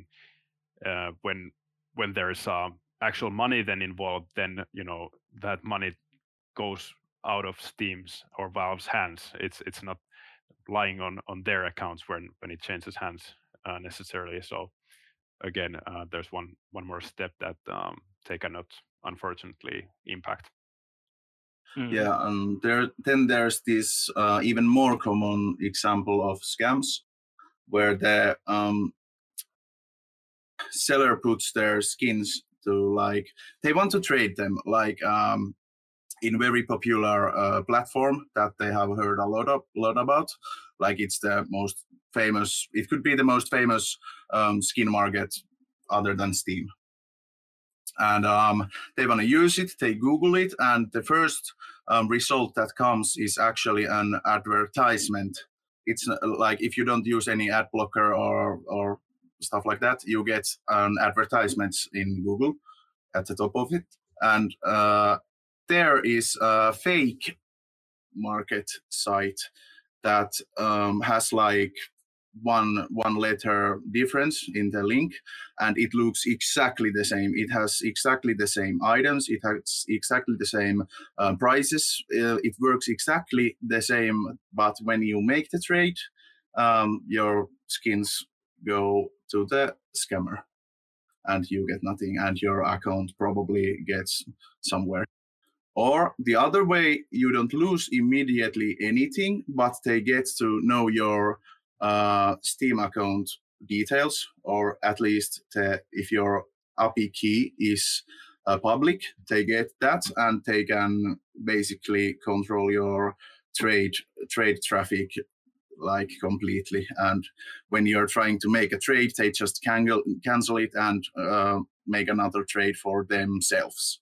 S3: When there's actual money then involved, then that money goes out of Steam's or Valve's hands. It's not lying on their accounts when it changes hands necessarily. So again, there's one more step that they cannot unfortunately impact.
S1: Yeah, and there's this even more common example of scams where the seller puts their skins to, like, they want to trade them, like in very popular platform that they have heard a lot about, like it's the most famous, it could be the most famous skin market other than Steam. And they want to use it, they Google it, and the first result that comes is actually an advertisement. It's like if you don't use any ad blocker or stuff like that, you get an advertisement in Google at the top of it. And there is a fake market site that has like one letter difference in the link, and it looks exactly the same. It has exactly the same items. It has exactly the same prices. It works exactly the same. But when you make the trade, your skins go to the scammer, and you get nothing, and your account probably gets somewhere. Or the other way, you don't lose immediately anything, but they get to know your Steam account details, or at least if your API key is public, they get that, and they can basically control your trade traffic like completely. And when you're trying to make a trade, they just cancel it and make another trade for themselves.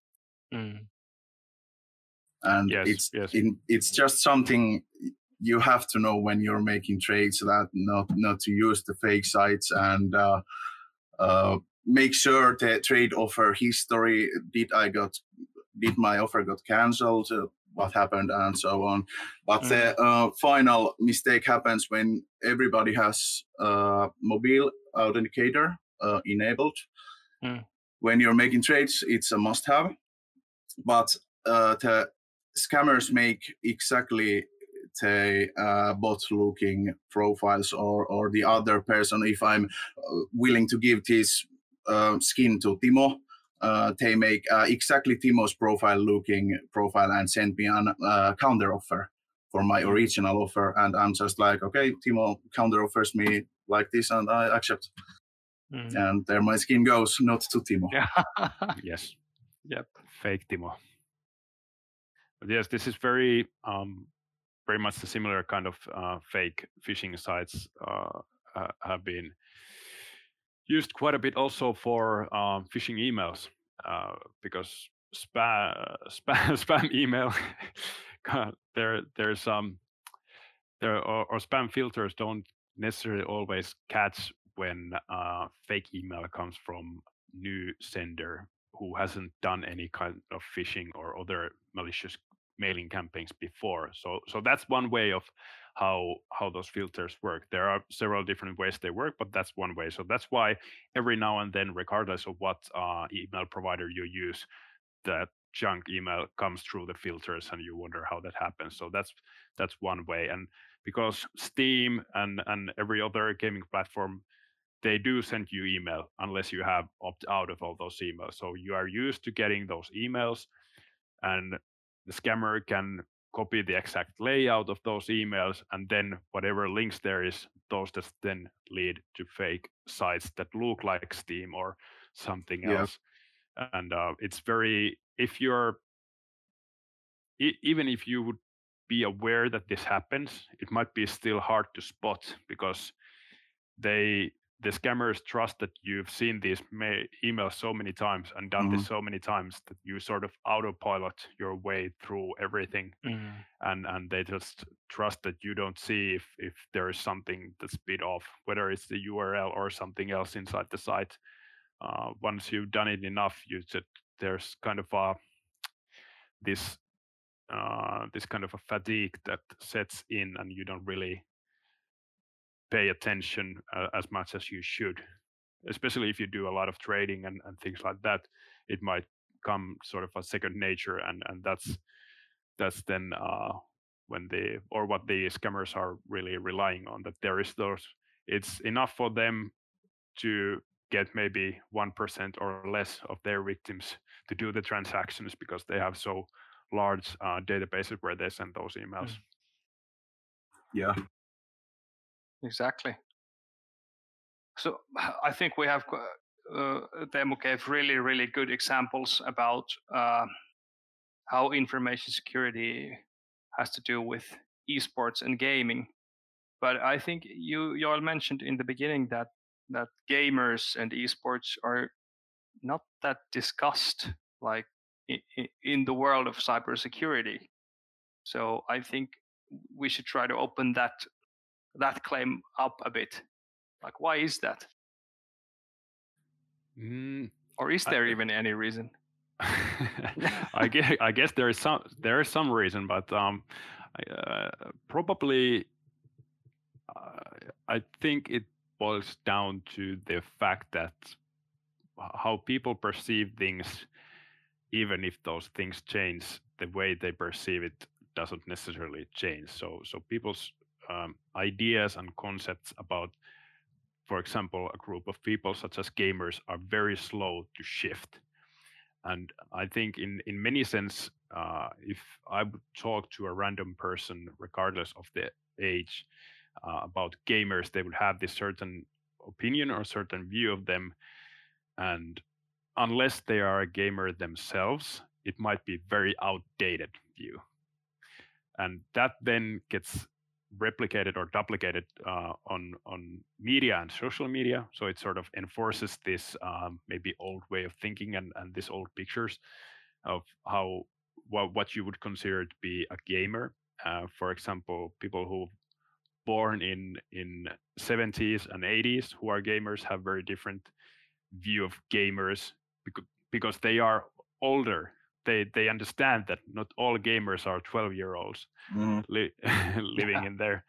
S1: And it's just something you have to know when you're making trades, that not to use the fake sites, and make sure the trade offer history. Did my offer got cancelled? What happened, and so on. But the final mistake happens when everybody has mobile authenticator enabled. When you're making trades, it's a must-have. But the scammers make exactly the bot-looking profiles, or the other person. If I'm willing to give this skin to Timo, they make exactly Timo's looking profile and send me a counter offer for my original offer. And I'm just like, okay, Timo counter offers me like this, and I accept. And there my skin goes, not to Timo.
S3: Yes.
S2: Yep.
S3: Fake Timo. But yes, this is very much the similar kind of fake phishing sites have been used quite a bit also for phishing emails, because spam email there's or spam filters don't necessarily always catch when fake email comes from new sender who hasn't done any kind of phishing or other malicious mailing campaigns before. So that's one way of how those filters work. There are several different ways they work, but that's one way. So that's why every now and then, regardless of what email provider you use, that junk email comes through the filters, and you wonder how that happens. So that's one way. And because Steam and every other gaming platform, they do send you email unless you have opt out of all those emails. So you are used to getting those emails, and the scammer can copy the exact layout of those emails, and then whatever links there is, those just then lead to fake sites that look like Steam or something else. And it's very, if you're, even if you would be aware that this happens, it might be still hard to spot, because the scammers trust that you've seen these emails so many times and done this so many times that you sort of autopilot your way through everything, and they just trust that you don't see if there is something that's bit off, whether it's the URL or something else inside the site. Once you've done it enough, there's kind of this kind of a fatigue that sets in, and you don't really pay attention as much as you should, especially if you do a lot of trading and things like that. It might come sort of a second nature, and that's then when what the scammers are really relying on, that there is those, it's enough for them to get maybe 1% or less of their victims to do the transactions, because they have so large databases where they send those emails.
S1: Yeah.
S2: Exactly. So I think we have, Teemu gave really, really good examples about how information security has to do with esports and gaming. But I think you all mentioned in the beginning that gamers and esports are not that discussed, like in the world of cybersecurity. So I think we should try to open that claim up a bit. Like, why is that? Or is there even any reason?
S3: I guess there is some reason, but probably I think it boils down to the fact that how people perceive things, even if those things change, the way they perceive it doesn't necessarily change. So people's ideas and concepts about, for example, a group of people such as gamers are very slow to shift. And I think in many sense, if I would talk to a random person, regardless of the age, about gamers, they would have this certain opinion or certain view of them. And unless they are a gamer themselves, it might be very outdated view. And that then gets replicated or duplicated on media and social media. So it sort of enforces this maybe old way of thinking and these old pictures of how what you would consider to be a gamer. For example, people who born in 70s and 80s who are gamers have very different view of gamers because they are older. They understand that not all gamers are 12-year-olds living in their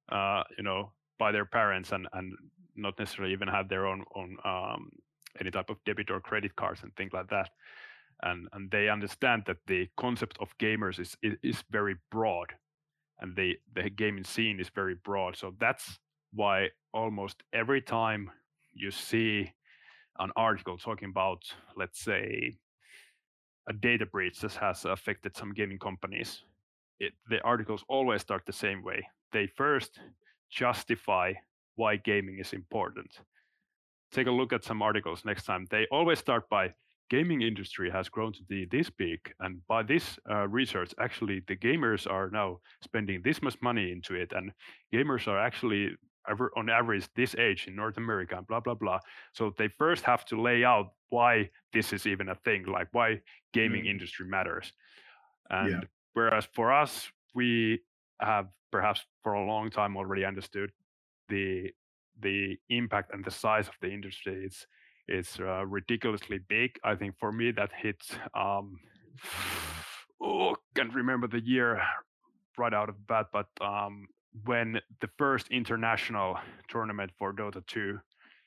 S3: by their parents and not necessarily even have their own any type of debit or credit cards and things like that. And they understand that the concept of gamers is very broad, and the gaming scene is very broad. So that's why almost every time you see an article talking about, let's say, a data breach that has affected some gaming companies, the articles always start the same way. They first justify why gaming is important. Take a look at some articles next time. They always start by, gaming industry has grown to be this big, and by this research, actually the gamers are now spending this much money into it, and gamers are actually on average this age in North America, and blah blah blah. So they first have to lay out why this is even a thing, like why gaming industry matters. And whereas for us, we have perhaps for a long time already understood the impact and the size of the industry. It's ridiculously big. I think for me that hits can't remember the year right out of the bat, but when the first international tournament for Dota 2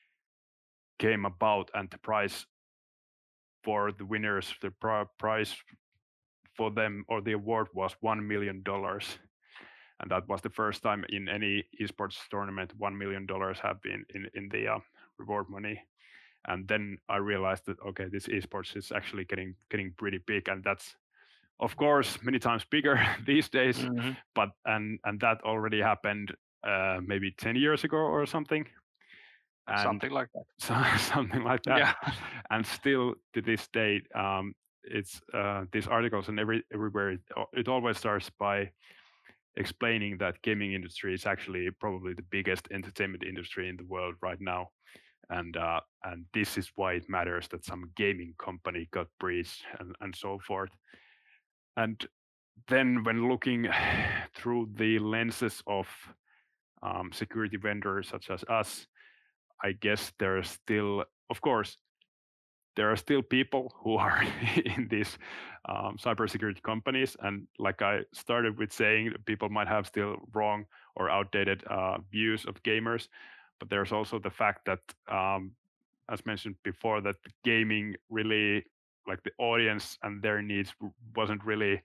S3: came about, and the prize for the winners, the prize for them, or the award, was $1 million. And that was the first time in any esports tournament $1 million have been in the reward money. And then I realized that, okay, this esports is actually getting pretty big, and that's of course many times bigger these days. But and that already happened maybe 10 years ago or something. And
S2: something like that.
S3: Something like that.
S2: Yeah.
S3: And still to this day, it's these articles and everywhere it always starts by explaining that gaming industry is actually probably the biggest entertainment industry in the world right now, and this is why it matters that some gaming company got breached and so forth. And then when looking through the lenses of security vendors such as us, I guess there are still, of course, there are still people who are in these cybersecurity companies. And like I started with saying, people might have still wrong or outdated views of gamers. But there's also the fact that, as mentioned before, that gaming really, like the audience and their needs wasn't really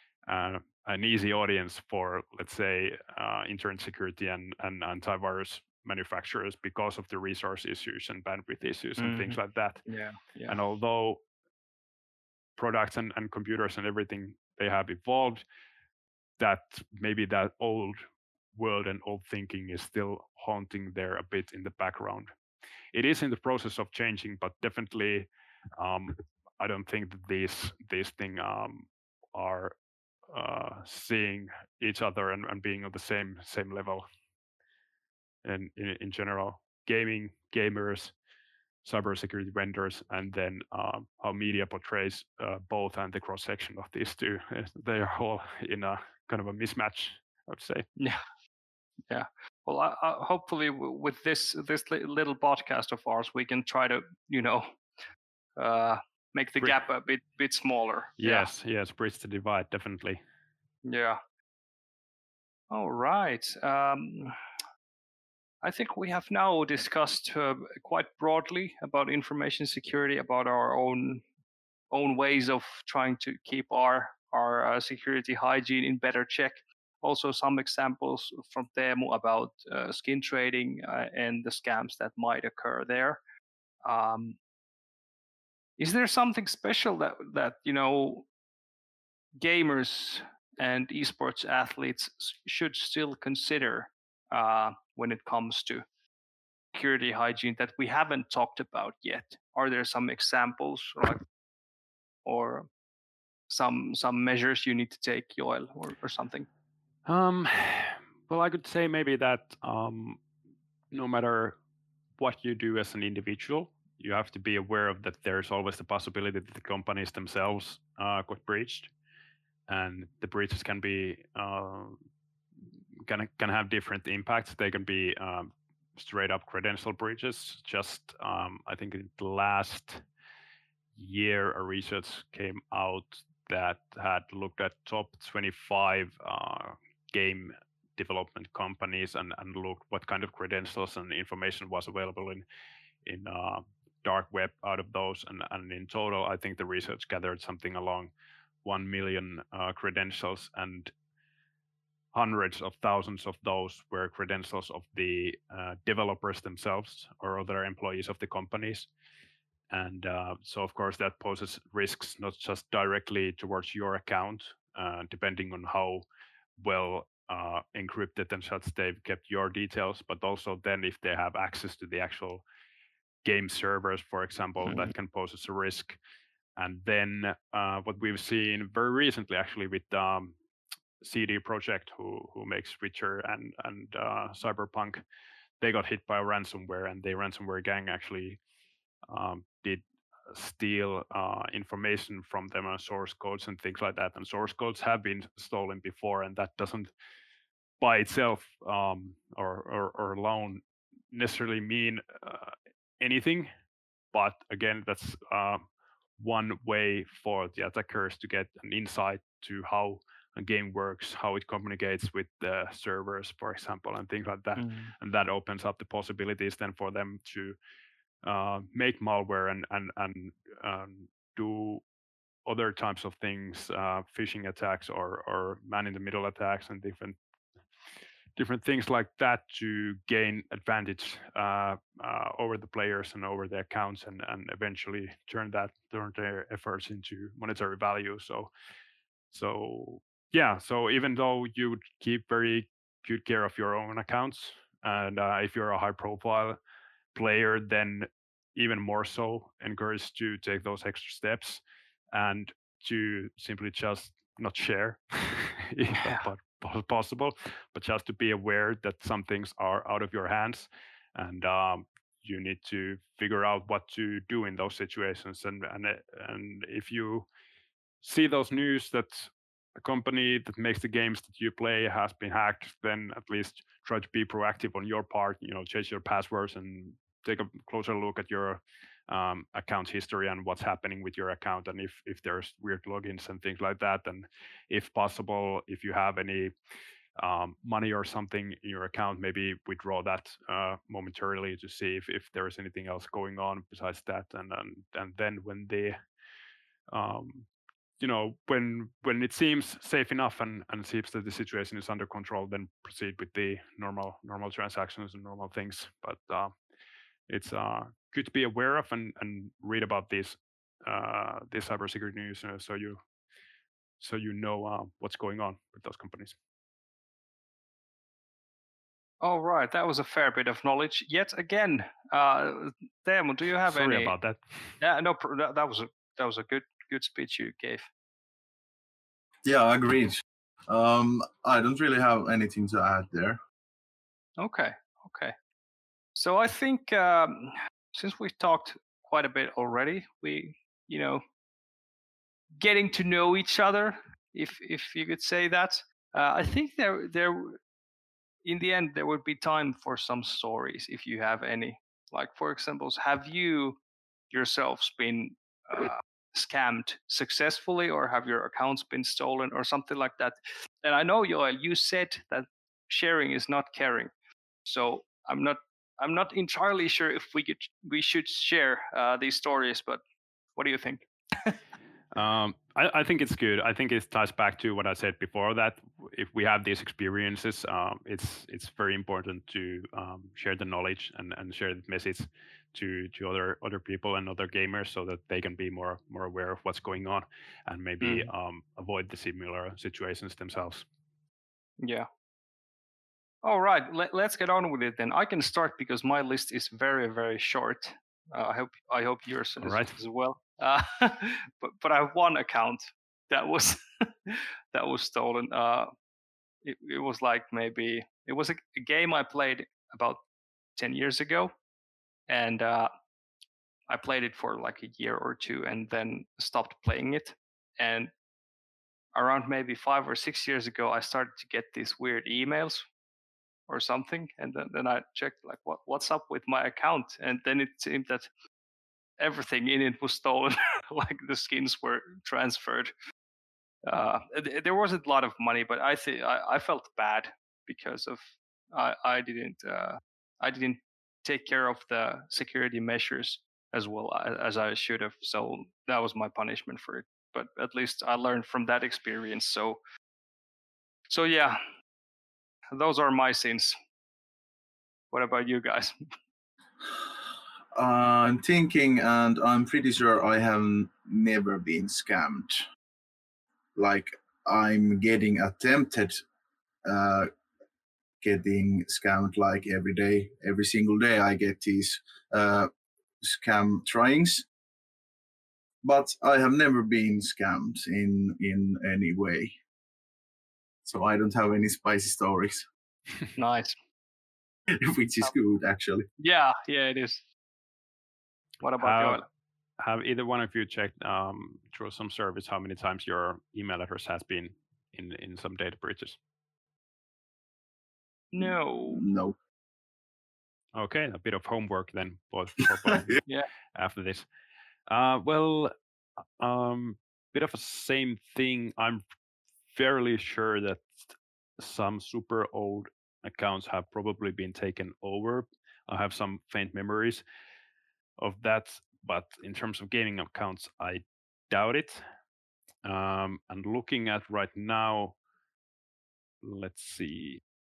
S3: an easy audience for, let's say, internet security and antivirus manufacturers because of the resource issues and bandwidth issues and things like that.
S2: Yeah.
S3: And although products and computers and everything, they have evolved, that maybe that old world and old thinking is still haunting there a bit in the background. It is in the process of changing, but definitely I don't think that these things are seeing each other and being on the same level. And in general, gaming, gamers, cybersecurity vendors, and then how media portrays both and the cross section of these two. They are all in a kind of a mismatch, I would say.
S2: Yeah. Well, I hopefully with this little podcast of ours, we can try to make the gap a bit smaller.
S3: Yes, bridge the divide, definitely.
S2: Yeah. All right. I think we have now discussed quite broadly about information security, about our own ways of trying to keep our security hygiene in better check. Also, some examples from Teemu about skin trading and the scams that might occur there. Is there something special that gamers and esports athletes should still consider when it comes to security hygiene that we haven't talked about yet? Are there some examples or some measures you need to take, Joel, or something?
S3: Well, I could say maybe that no matter what you do as an individual, you have to be aware of that there's always the possibility that the companies themselves got breached, and the breaches can be can have different impacts. They can be straight up credential breaches. Just I think in the last year, a research came out that had looked at top 25 game development companies and looked what kind of credentials and information was available in dark web out of those, and in total I think the research gathered something along 1 million credentials, and hundreds of thousands of those were credentials of the developers themselves or other employees of the companies. And so of course that poses risks not just directly towards your account, depending on how well encrypted and such they've kept your details, but also then if they have access to the actual game servers, for example, that can pose as a risk. And then what we've seen very recently, actually, with CD Projekt, who makes Witcher and Cyberpunk, they got hit by a ransomware, and the ransomware gang actually did steal information from them on source codes and things like that. And source codes have been stolen before, and that doesn't by itself or alone necessarily mean anything. But again, that's one way for the attackers to get an insight to how a game works, how it communicates with the servers, for example, and things like that. And that opens up the possibilities then for them to make malware and do other types of things, phishing attacks or man-in-the-middle attacks and different things like that to gain advantage over the players and over the accounts, and eventually turn their efforts into monetary value. So yeah, so even though you would keep very good care of your own accounts, and if you're a high-profile player, then even more so encouraged to take those extra steps and to simply just not share if possible, but just to be aware that some things are out of your hands, and you need to figure out what to do in those situations. And if you see those news that a company that makes the games that you play has been hacked, then at least try to be proactive on your part. Change your passwords and take a closer look at your account history and what's happening with your account, and if there's weird logins and things like that. And if possible, if you have any money or something in your account, maybe withdraw that momentarily to see if there is anything else going on besides that. And then when the when it seems safe enough and seems that the situation is under control, then proceed with the normal transactions and normal things. But it's good to be aware of and read about this cybersecurity news, so you know what's going on with those companies.
S2: All right, that was a fair bit of knowledge yet again. Teemu, do you have
S3: Sorry about that.
S2: Yeah, no, that was a good speech you gave.
S1: Yeah, agreed. I don't really have anything to add there.
S2: Okay. So I think since we've talked quite a bit already, we getting to know each other, if you could say that. I think there in the end there would be time for some stories if you have any. Like, for example, have you yourselves been scammed successfully, or have your accounts been stolen or something like that? And I know, Joel, you said that sharing is not caring. So I'm not entirely sure if we should share these stories, but what do you think?
S3: I think it's good. I think it ties back to what I said before, that if we have these experiences, it's very important to share the knowledge and share the message to other people and other gamers, so that they can be more aware of what's going on and maybe avoid the similar situations themselves.
S2: Yeah. All right, let's get on with it then. I can start because my list is very, very short. I hope yours is as well. But I have one account that was that was stolen. It was like maybe it was a game I played about 10 years ago, and I played it for like a year or two, and then stopped playing it. And around maybe 5 or 6 years ago, I started to get these weird emails or something, and then I checked like what's up with my account, and then it seemed that everything in it was stolen. Like the skins were transferred. There wasn't a lot of money, but I felt bad because of I didn't take care of the security measures as well as I should have. So that was my punishment for it. But at least I learned from that experience. So yeah, those are my sins. What about you guys?
S1: I'm thinking, and I'm pretty sure I have never been scammed. Like, I'm getting attempted getting scammed like every day. Every single day I get these scam tryings. But I have never been scammed in any way. So I don't have any spicy stories.
S2: Nice.
S1: Which is good, actually.
S2: Yeah, it is. What about Joel?
S3: Have either one of you checked through some service how many times your email address has been in some data breaches?
S2: No.
S3: Okay, a bit of homework then for
S2: yeah.
S3: After this. Well, bit of a same thing. I'm fairly sure that some super old accounts have probably been taken over. I have some faint memories of that, but in terms of gaming accounts, I doubt it. And looking at right now, let's see.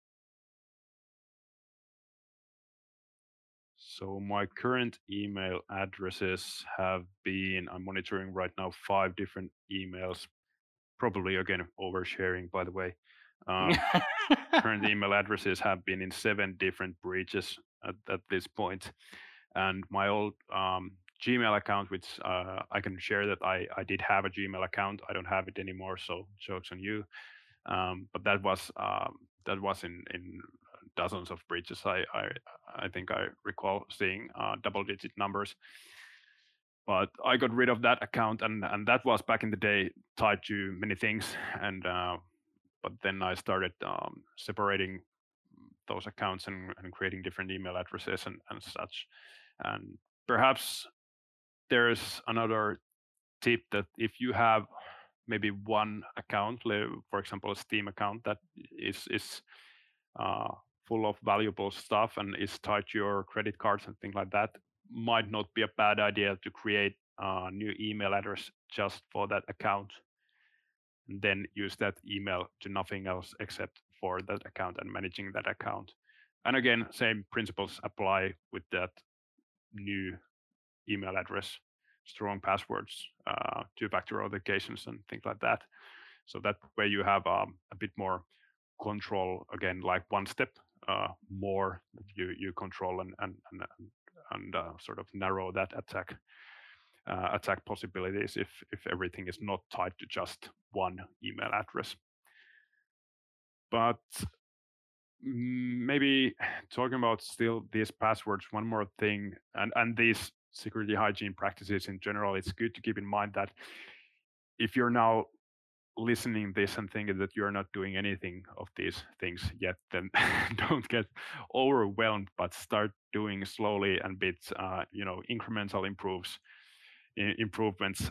S3: So my current email addresses have been, I'm monitoring right now 5 different emails, probably again oversharing, by the way. Current email addresses have been in 7 different breaches at this point. And my old Gmail account, which I can share that I did have a Gmail account. I don't have it anymore, so joke's on you. But that was in dozens of breaches. I think I recall seeing double-digit numbers. But I got rid of that account, and that was back in the day tied to many things. And but then I started separating those accounts and creating different email addresses and such. And perhaps there's another tip that if you have maybe one account, for example, a Steam account that is full of valuable stuff and is tied to your credit cards and things like that, might not be a bad idea to create a new email address just for that account, and then use that email to nothing else except for that account and managing that account. And again, same principles apply with that new email address, strong passwords, 2-factor authentications and things like that. So that way you have a bit more control, again, like one step more you control and sort of narrow that attack possibilities if everything is not tied to just one email address. But maybe talking about still these passwords, one more thing, and these security hygiene practices in general, it's good to keep in mind that if you're now listening this and thinking that you're not doing anything of these things yet, then don't get overwhelmed, but start doing slowly and bits, incremental improvements.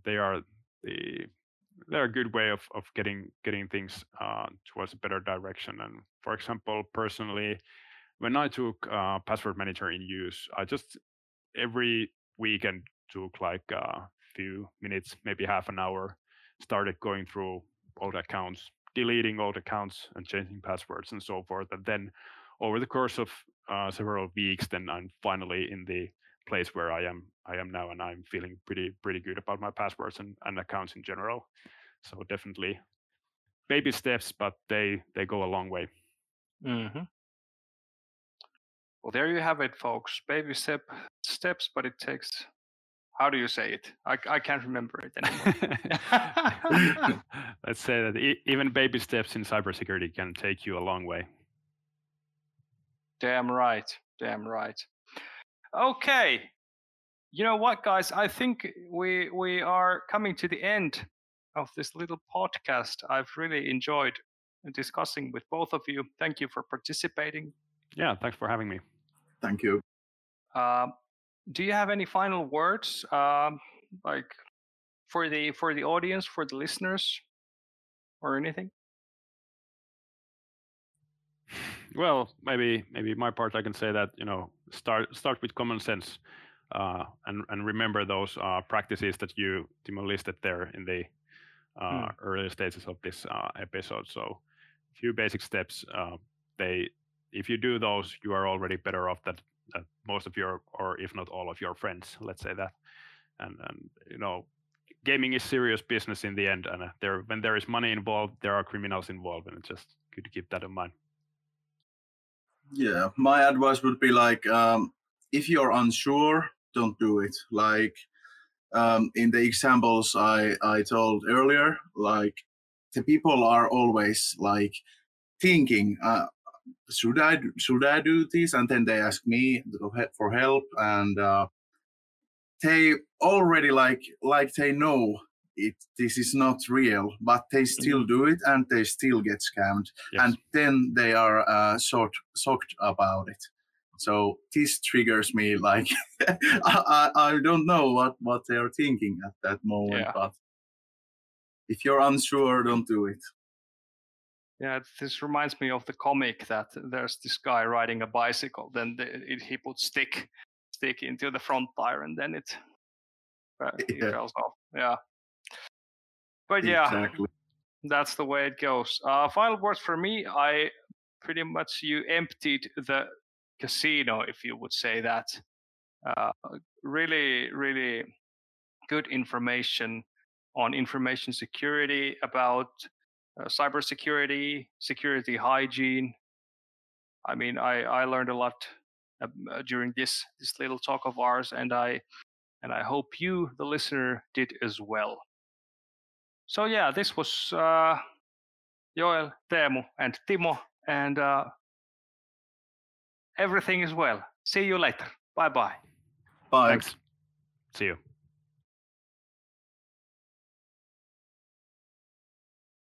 S3: They're a good way of getting things towards a better direction. And for example, personally, when I took Password Manager in use, I just every weekend took like a few minutes, maybe half an hour, started going through old accounts, deleting old accounts and changing passwords and so forth. And then over the course of several weeks, then I'm finally in the place where I am now, and I'm feeling pretty good about my passwords and accounts in general. So definitely baby steps, but they go a long way.
S2: Mm-hmm. Well, there you have it, folks. Baby steps, but it takes. How do you say it? I can't remember it anymore.
S3: Let's say that even baby steps in cybersecurity can take you a long way.
S2: Damn right. Damn right. Okay. You know what, guys? I think we are coming to the end of this little podcast. I've really enjoyed discussing with both of you. Thank you for participating.
S3: Yeah, thanks for having me.
S1: Thank you.
S2: Do you have any final words, like for the audience, for the listeners, or anything?
S3: Well, maybe my part, I can say that, you know, start with common sense, and remember those practices that you, Timo, listed there in the earlier stages of this episode. So a few basic steps. If you do those, you are already better off that most of your, or if not all of your friends, let's say that. And you know, gaming is serious business in the end, and when there is money involved, there are criminals involved, and it's just good to keep that in mind.
S1: Yeah, my advice would be like, if you're unsure, don't do it. Like in the examples I told earlier, like the people are always like thinking, should I do this? And then they ask me for help, and they already like they know this is not real, but they still do it, and they still get scammed. Yes. And then they are shocked about it. So this triggers me, like I don't know what they are thinking at that moment. Yeah. But if you're unsure, don't do it.
S2: Yeah, this reminds me of the comic that there's this guy riding a bicycle, then he puts stick into the front tire, and then he falls off. Yeah. But yeah, exactly. That's the way it goes. Final words for me, I pretty much, you emptied the casino, if you would say that. Really, really good information on information security, about cybersecurity, security hygiene. I mean, I learned a lot during this little talk of ours, and I hope you, the listener, did as well. So yeah, this was Joel, Teemu, and Timo, and everything is well. See you later. Bye-bye.
S1: Bye.
S3: Thanks. See you.